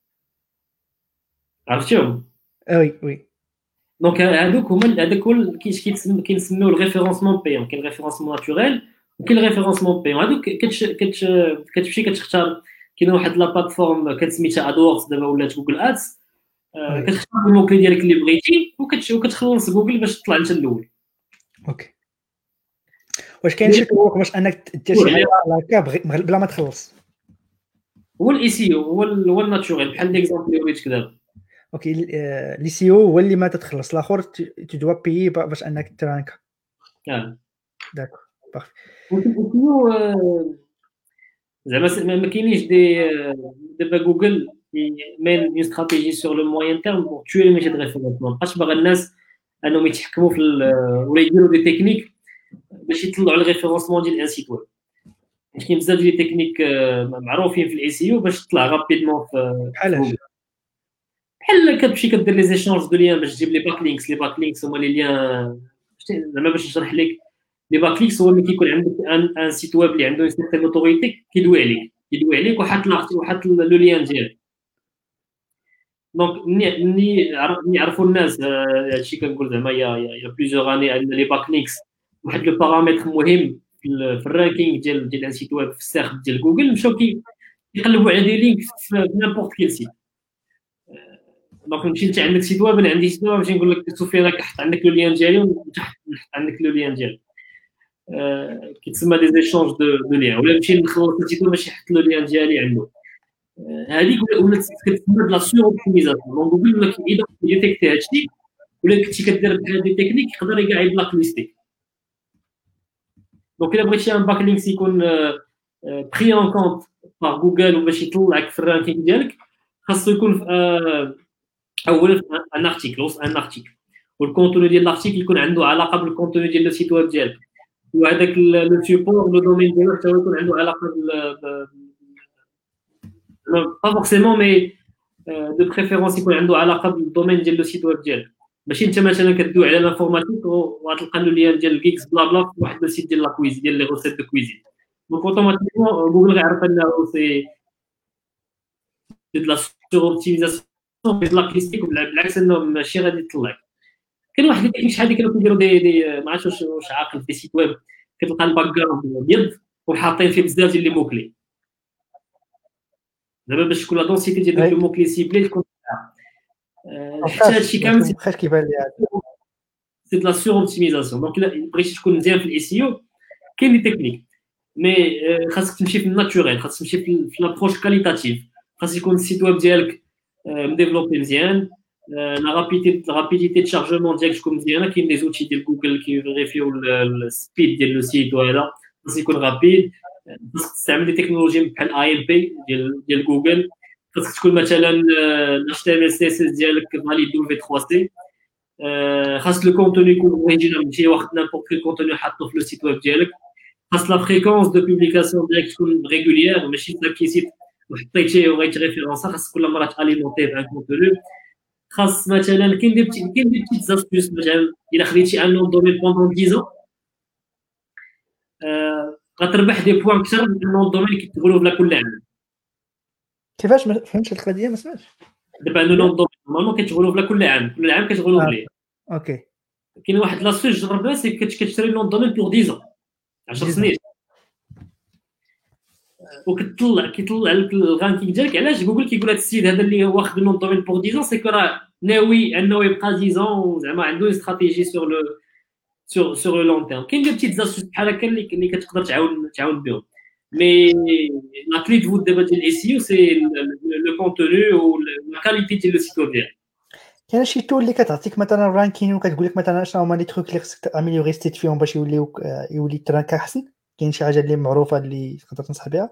عرفتيهم. وي وي. دونك هادوك هما هذاك هو كيتسمى كينسميو الريفيرونسمون بيون. كاين الريفيرونسمون ناتوريل وكاين الريفيرونسمون بيون. هادوك كتش كتش كتمشي كتختار. كاين واحد لا بلاتفورم كتسميتها ادورز دابا ولات جوجل ادز. كتختار الموكلي ديالك اللي بغيتي وكتخلص جوجل باش تطلع انت الاول. اوكي. واش كاين شي طرق باش انك دير شي حاجه هكا بلا ما تخلص؟ هو الاي سي او هو هو الناتوريل بحال ليكزامبل اللي وريتك دابا. اوكي. لي سي او هو اللي ما تتخلص، الاخر تو دوا بيي باش انك ترانك. اه داكور بارفي. وكيو زعما ما كاينينش دي دابا جوجل مين اون استراتيجي سور لو موين تيرم بور توي لي ميتي دو ريفيرونس. ما بقاش باغا الناس انهم يتحكموا في ولا يديروا دي تكنيك باش يطلعوا الريفيرونسمون ديال ان سيت ويب. كاين بزاف ديال التكنيك معروفين في الاي سي او باش تطلع رابيدمون في بحال بحال كتمشي كدير لي زيشونج دو ليان باش تجيب لي باك لينكس. لي باك لينكس هما لي ليان زعما باش نشرح لك. لي باك لينكس هو ملي كيكون عندك ان, ان سيت ويب اللي عنده اون سيرتين اوتوريتي كيدوي عليك كيدوي عليك وحاط وحاط لو ليان ديالك. دونك ملي ملي يعرفوا الناس هادشي كنقول زعما يا يا بليزيور اني عندنا لي باك لينكس واحد لو بارامتر مهم في الرانكينغ ديال ديال ان سيت ويب في السيرش ديال جوجل. مشاو كيقلبوا على دي لينك في نيمبورط كيل سيت. دونك نمشي انت عندك سيت ويب انا عندي سيت ويب نمشي نقول لك سفيان راك حط عندك لو ليان ديالي ونحط عندك لو ليان ديالك. آه كيتسمى دي زيشونج دو دو ليان. ولا نمشي نخلص السيت ويب باش يحط لو ليان ديالي عنده. هذيك ولات كتسمى بلا سور اوبتيميزاسيون. دونك جوجل ولا اذا ديتيكتي هادشي ولا كنتي كدير بحال دي تكنيك يقدر كاع يبلاك ليستي. دونك الا بغيتي ان باك لينكس يكون بري اون كونت باغ جوجل وباش يطلعك في الرانكينغ ديالك خاصو يكون في اولا ان ارتيكل وسط ان ارتيكل والكونتوني ديال الارتيكل يكون عنده علاقه بالكونتوني ديال السيت ويب ديالك وهذاك لو سيبور لو دومين ديالو حتى هو يكون عنده علاقه بال با فورسيمون مي دو بريفيرونس يكون عنده علاقه بالدومين ديال لو سيت ويب ديالك. ماشي انت مثلا كدوي على لانفورماتيك وغتلقى له ليان ديال الجيكس بلا بلا في واحد السيت ديال لا كويز ديال لي غوسيت دو كويزين، دونك اوتوماتيكمون جوجل غيعرف انه سي دو لا سور اوبتيميزاسيون ديال لا كليستيك، بالعكس انه ماشي غادي يطلع. كاين واحد التكنيك شحال هذه كانوا كيديروا دي دي ما عرفتش واش واش عاقل في سيت ويب، كتلقى الباك جراوند ابيض وحاطين فيه بزاف ديال لي موكلي، دابا باش تكون لا دونسيتي ديال دوك لي موكلي سيبلي تكون حتى هادشي كامل ما بقاش كيبان لي سي دو لا سور اوبتيميزاسيون. دونك الا بغيتي تكون مزيان في الاي سي او كاين دي تكنيك، مي خاصك تمشي في الناتوريل، خاصك تمشي في لابروش كاليتاتيف، خاص يكون السيت ويب ديالك مديفلوبي مزيان، لا رابيديتي لا رابيديتي دو شارجمون ديالك تكون مزيانه. كاين دي زوتي ديال جوجل كيفيريفيو السبيد ديال لو سيت، وهذا خاص يكون رابيد. خاصك تستعمل دي تكنولوجي بحال اي ام بي ديال ديال جوجل. خاصك تكون مثلا الاش تي ام ال سي اس اس ديالك فاليد في ثلاثة سي. خاص لو كونتوني يكون اوريجينال، ماشي واخد نيمبورت كيل كونتوني حاطو في لو سيت ويب ديالك. خاص لا فريكونس دو بوبليكاسيون ديالك تكون ريغوليير، ماشي تلاقي سيت وحطيتيه وغيت ريفيرونسا، خاص كل مره تاليمونتي بان كونتوني. خاص مثلا كاين دي بتي كاين دي بتيت زاستيوس، مثلا الا خديتي ان نون دومين بوندون ديزون آه غتربح دي بوان اكثر من نون دومين اللي كيتغلو بلا كل عام. كيفاش ما فهمتش هاد القضيه؟ ما سمعتش. دابا ان نون دومين نورمالمون كيتغلو بلا كل عام، كل عام كتغلو بليه. اوكي. كاين واحد لاستيج جربناه، سي كتشري نون دومين بور ديزون عشر سنين، وكتطلع كيطلع لك الرانكينغ ديالك. علاش جوجل كيقول هذا السيد هذا اللي واخد نون دومين بور ديزون، سي كو راه ناوي انه يبقى ديزون، وزعما عنده استراتيجي سور لو سور سور لو لون تيرم. كاين دي بتيت زاستوس بحال هكا اللي اللي كتقدر تعاون تعاون بهم. مي لا كلي دو دابا ديال الاي سي او سي لو كونتوني و لا كاليتي ديال لو سيت ويب ديالك. كاين شي تول اللي كتعطيك مثلا رانكين وكتقول لك مثلا شنو هما لي تروك اللي خصك تاميليوري ستيت فيهم باش يوليو يولي الترانك احسن؟ كاين شي حاجه اللي معروفه اللي تقدر تنصح بها؟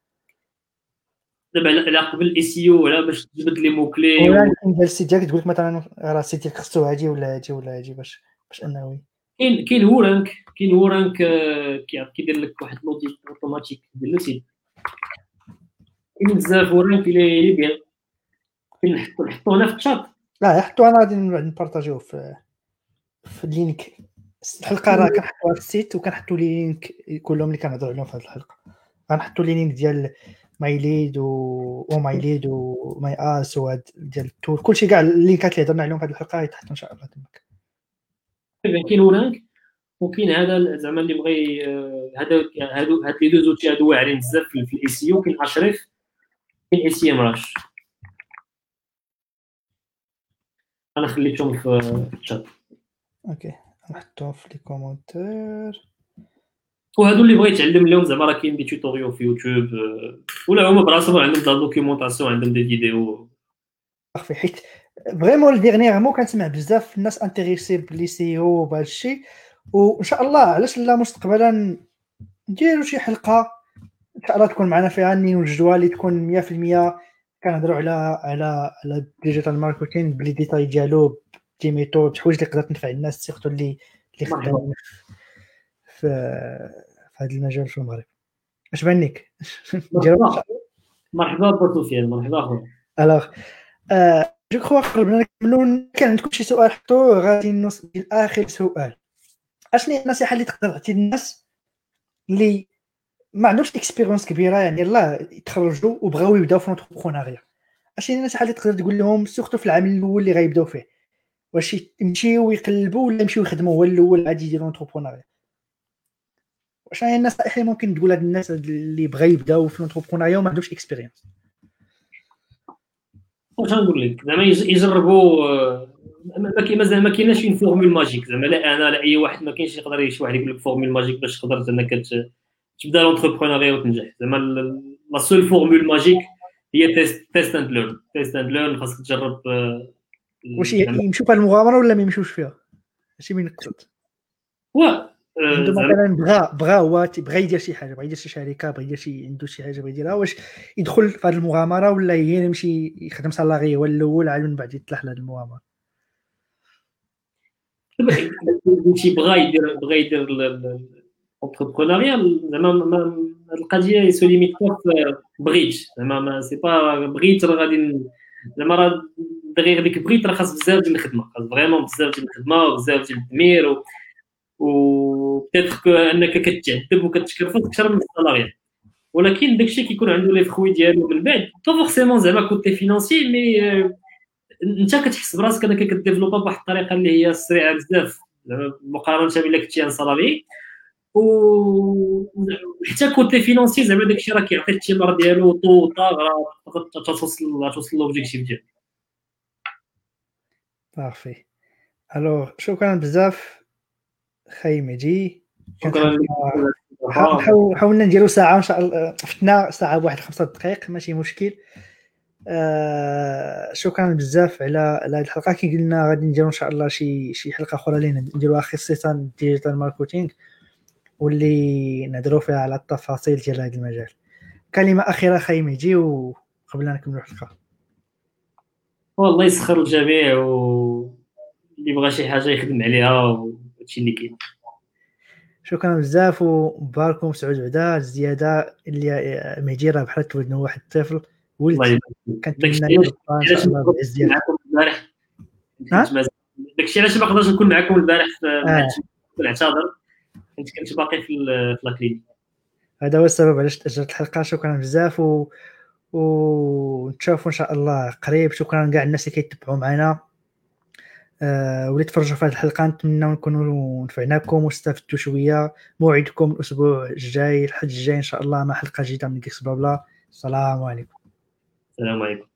دابا على قبل الاي سي او ولا باش تجبد لي موكلي ولا ديال السيت ديالك تقول لك مثلا راه السيت ديالك خصو هادي ولا هادي ولا هادي باش باش انه كاين كاين هو رانك كاين هو رانك كيدير لك واحد لوديت اوتوماتيك ديال لو سيت. كاين بزاف هو رانك اللي بيان. كاين نحطو نحطو هنا في الشات. لا حطو انا غادي نبارطاجيوه في في اللينك. الحلقه راه كنحطوها في السيت وكنحطوا لي لينك كلهم اللي كنهضروا عليهم في هذه الحلقه. غنحطوا لي لينك ديال ماي ليد و او ماي ليد و ماي اس وهاد ديال التول، كلشي كاع اللينكات اللي هضرنا عليهم في هذه الحلقه غيتحطوا ان شاء الله تماك. كاين هناك وكاين هذا زعما اللي بغى هذا هادو هاد لي دو زوتي هادو واعرين بزاف في الاي سي او. كاين اشرف، كاين اي سي ام راش، انا خليتهم في الشات. اوكي نحطهم في لي كومونتير. وهادو اللي بغى يتعلم لهم زعما راه كاين دي توتوريال في يوتيوب، ولا هما براسهم عندهم دا دوكيومونطاسيون، عندهم دي فيديو. صافي حيت فريمون ديرنييرمون كنسمع بزاف الناس انتريسي بلي سي او بهذا الشيء، وان شاء الله علاش لا مستقبلا نديروا شي حلقه ان شاء الله تكون معنا فيها ني وجدوا اللي تكون مية في المية كنهضروا على على على الديجيتال ماركتينغ بلي ديتاي ديالو، دي ميثود، حوايج اللي تقدر تنفع الناس سيرتو اللي اللي خدامين في في هذا المجال في المغرب. اش بانك؟ مرحبا مرحبا بوسفيان، مرحبا اخويا. الوغ جو كخوا قبل نكملوا كان عندكم شي سؤال حطوه غادي نوصل لاخر سؤال. اشني النصيحه اللي تقدر تعطي للناس اللي ما عندهمش اكسبيريونس كبيره، يعني الله يتخرجوا وبغاو يبداو في لونتربرونيا؟ اشني النصيحه اللي تقدر تقول لهم سورتو في العام الاول اللي غيبداو فيه؟ واش يمشيو ويقلبوا ولا يمشيو يخدموا هو الاول عادي يديروا لونتربرونيا؟ واش هي النصائح اللي ممكن تقولها للناس اللي بغا يبداو في لونتربرونيا وما عندهمش اكسبيريونس؟ واش نقول لك زعما يجربوا، ما مازال ما كايناش شي فورمول ماجيك زعما، لا انا لا اي واحد ما كاينش يقدر شي واحد يقول لك فورمول ماجيك باش تقدر انك تبدا لونتربرونيا وتنجح. زعما لا سول فورمول ماجيك هي تيست تيست اند ليرن تيست اند ليرن. خاصك تجرب. واش يمشيو في المغامره ولا ما يمشيوش فيها؟ ماشي من نقطه وا عنده مثلا بغا بغا هو بغا يدير شي حاجه، بغا يدير شي شركه، بغا يدير شي عنده شي حاجه بغا يديرها، واش يدخل في هذه المغامره ولا هي يمشي يخدم سالاري هو الاول عاد من بعد يطلع لهذه المغامره؟ شي بغا يدير بغا يدير الانتربرونيا زعما القضيه سو ليميت بغيت زعما سي با بغيت راه غادي زعما راه دغيغ ديك بغيت راه خاص بزاف ديال الخدمه، خاص فريمون بزاف ديال الخدمه وبزاف ديال التدمير و و بيتيتر انك كتعذب وكتشكرفص اكثر من السالاريات. ولكن داكشي كيكون عنده لي فخوي ديالو من بعد با فورسيمون زعما كوتي فينانسي، مي انت كتحس براسك انك كديفلوبا بواحد الطريقه اللي هي سريعه بزاف مقارنه بلا كنتي ان سالاري. وحتى كوتي فينانسي زعما داكشي راه كيعطي الثمار ديالو طو طاغ، راه توصل توصل لوبجيكتيف ديالك. بارفي. الوغ شكرا بزاف خاي مهدي. شكرا لك. حاول حاولنا نديرو ساعه ان شاء الله، فتنا ساعه بواحد خمسة دقائق ماشي مشكل. آه شكرا بزاف على على هذه الحلقه. كي قلنا غادي نديرو ان شاء الله شي شي حلقه اخرى اللي نديروها خصيصا ديجيتال ماركتينغ، واللي نهضروا فيها على التفاصيل ديال هذا المجال. كلمه اخيره خاي مهدي وقبل نكملوا الحلقه. والله يسخر الجميع، واللي بغى شي حاجه يخدم عليها وهادشي اللي كاين. شكرا بزاف ومبارك مسعود بعدا الزياده اللي مهدي راه بحال تولدنا واحد الطفل ولد. كنتمنى ان شاء الله بعز ديالك معكم البارح. داكشي علاش ما قدرتش نكون معكم البارح نعتذر، كنت كنت باقي في لاكلينيك. هذا هو السبب علاش تاجلت الحلقه. شكرا بزاف و ونتشافوا ان شاء الله قريب. شكرا لكاع الناس اللي كيتبعوا معنا أه واللي تفرجوا في هذه الحلقه. نتمنى نكونوا نفعناكم واستفدتوا شويه. موعدكم الاسبوع الجاي الحد الجاي ان شاء الله مع حلقه جديده من كيكس بلا بلا. السلام عليكم. السلام عليكم.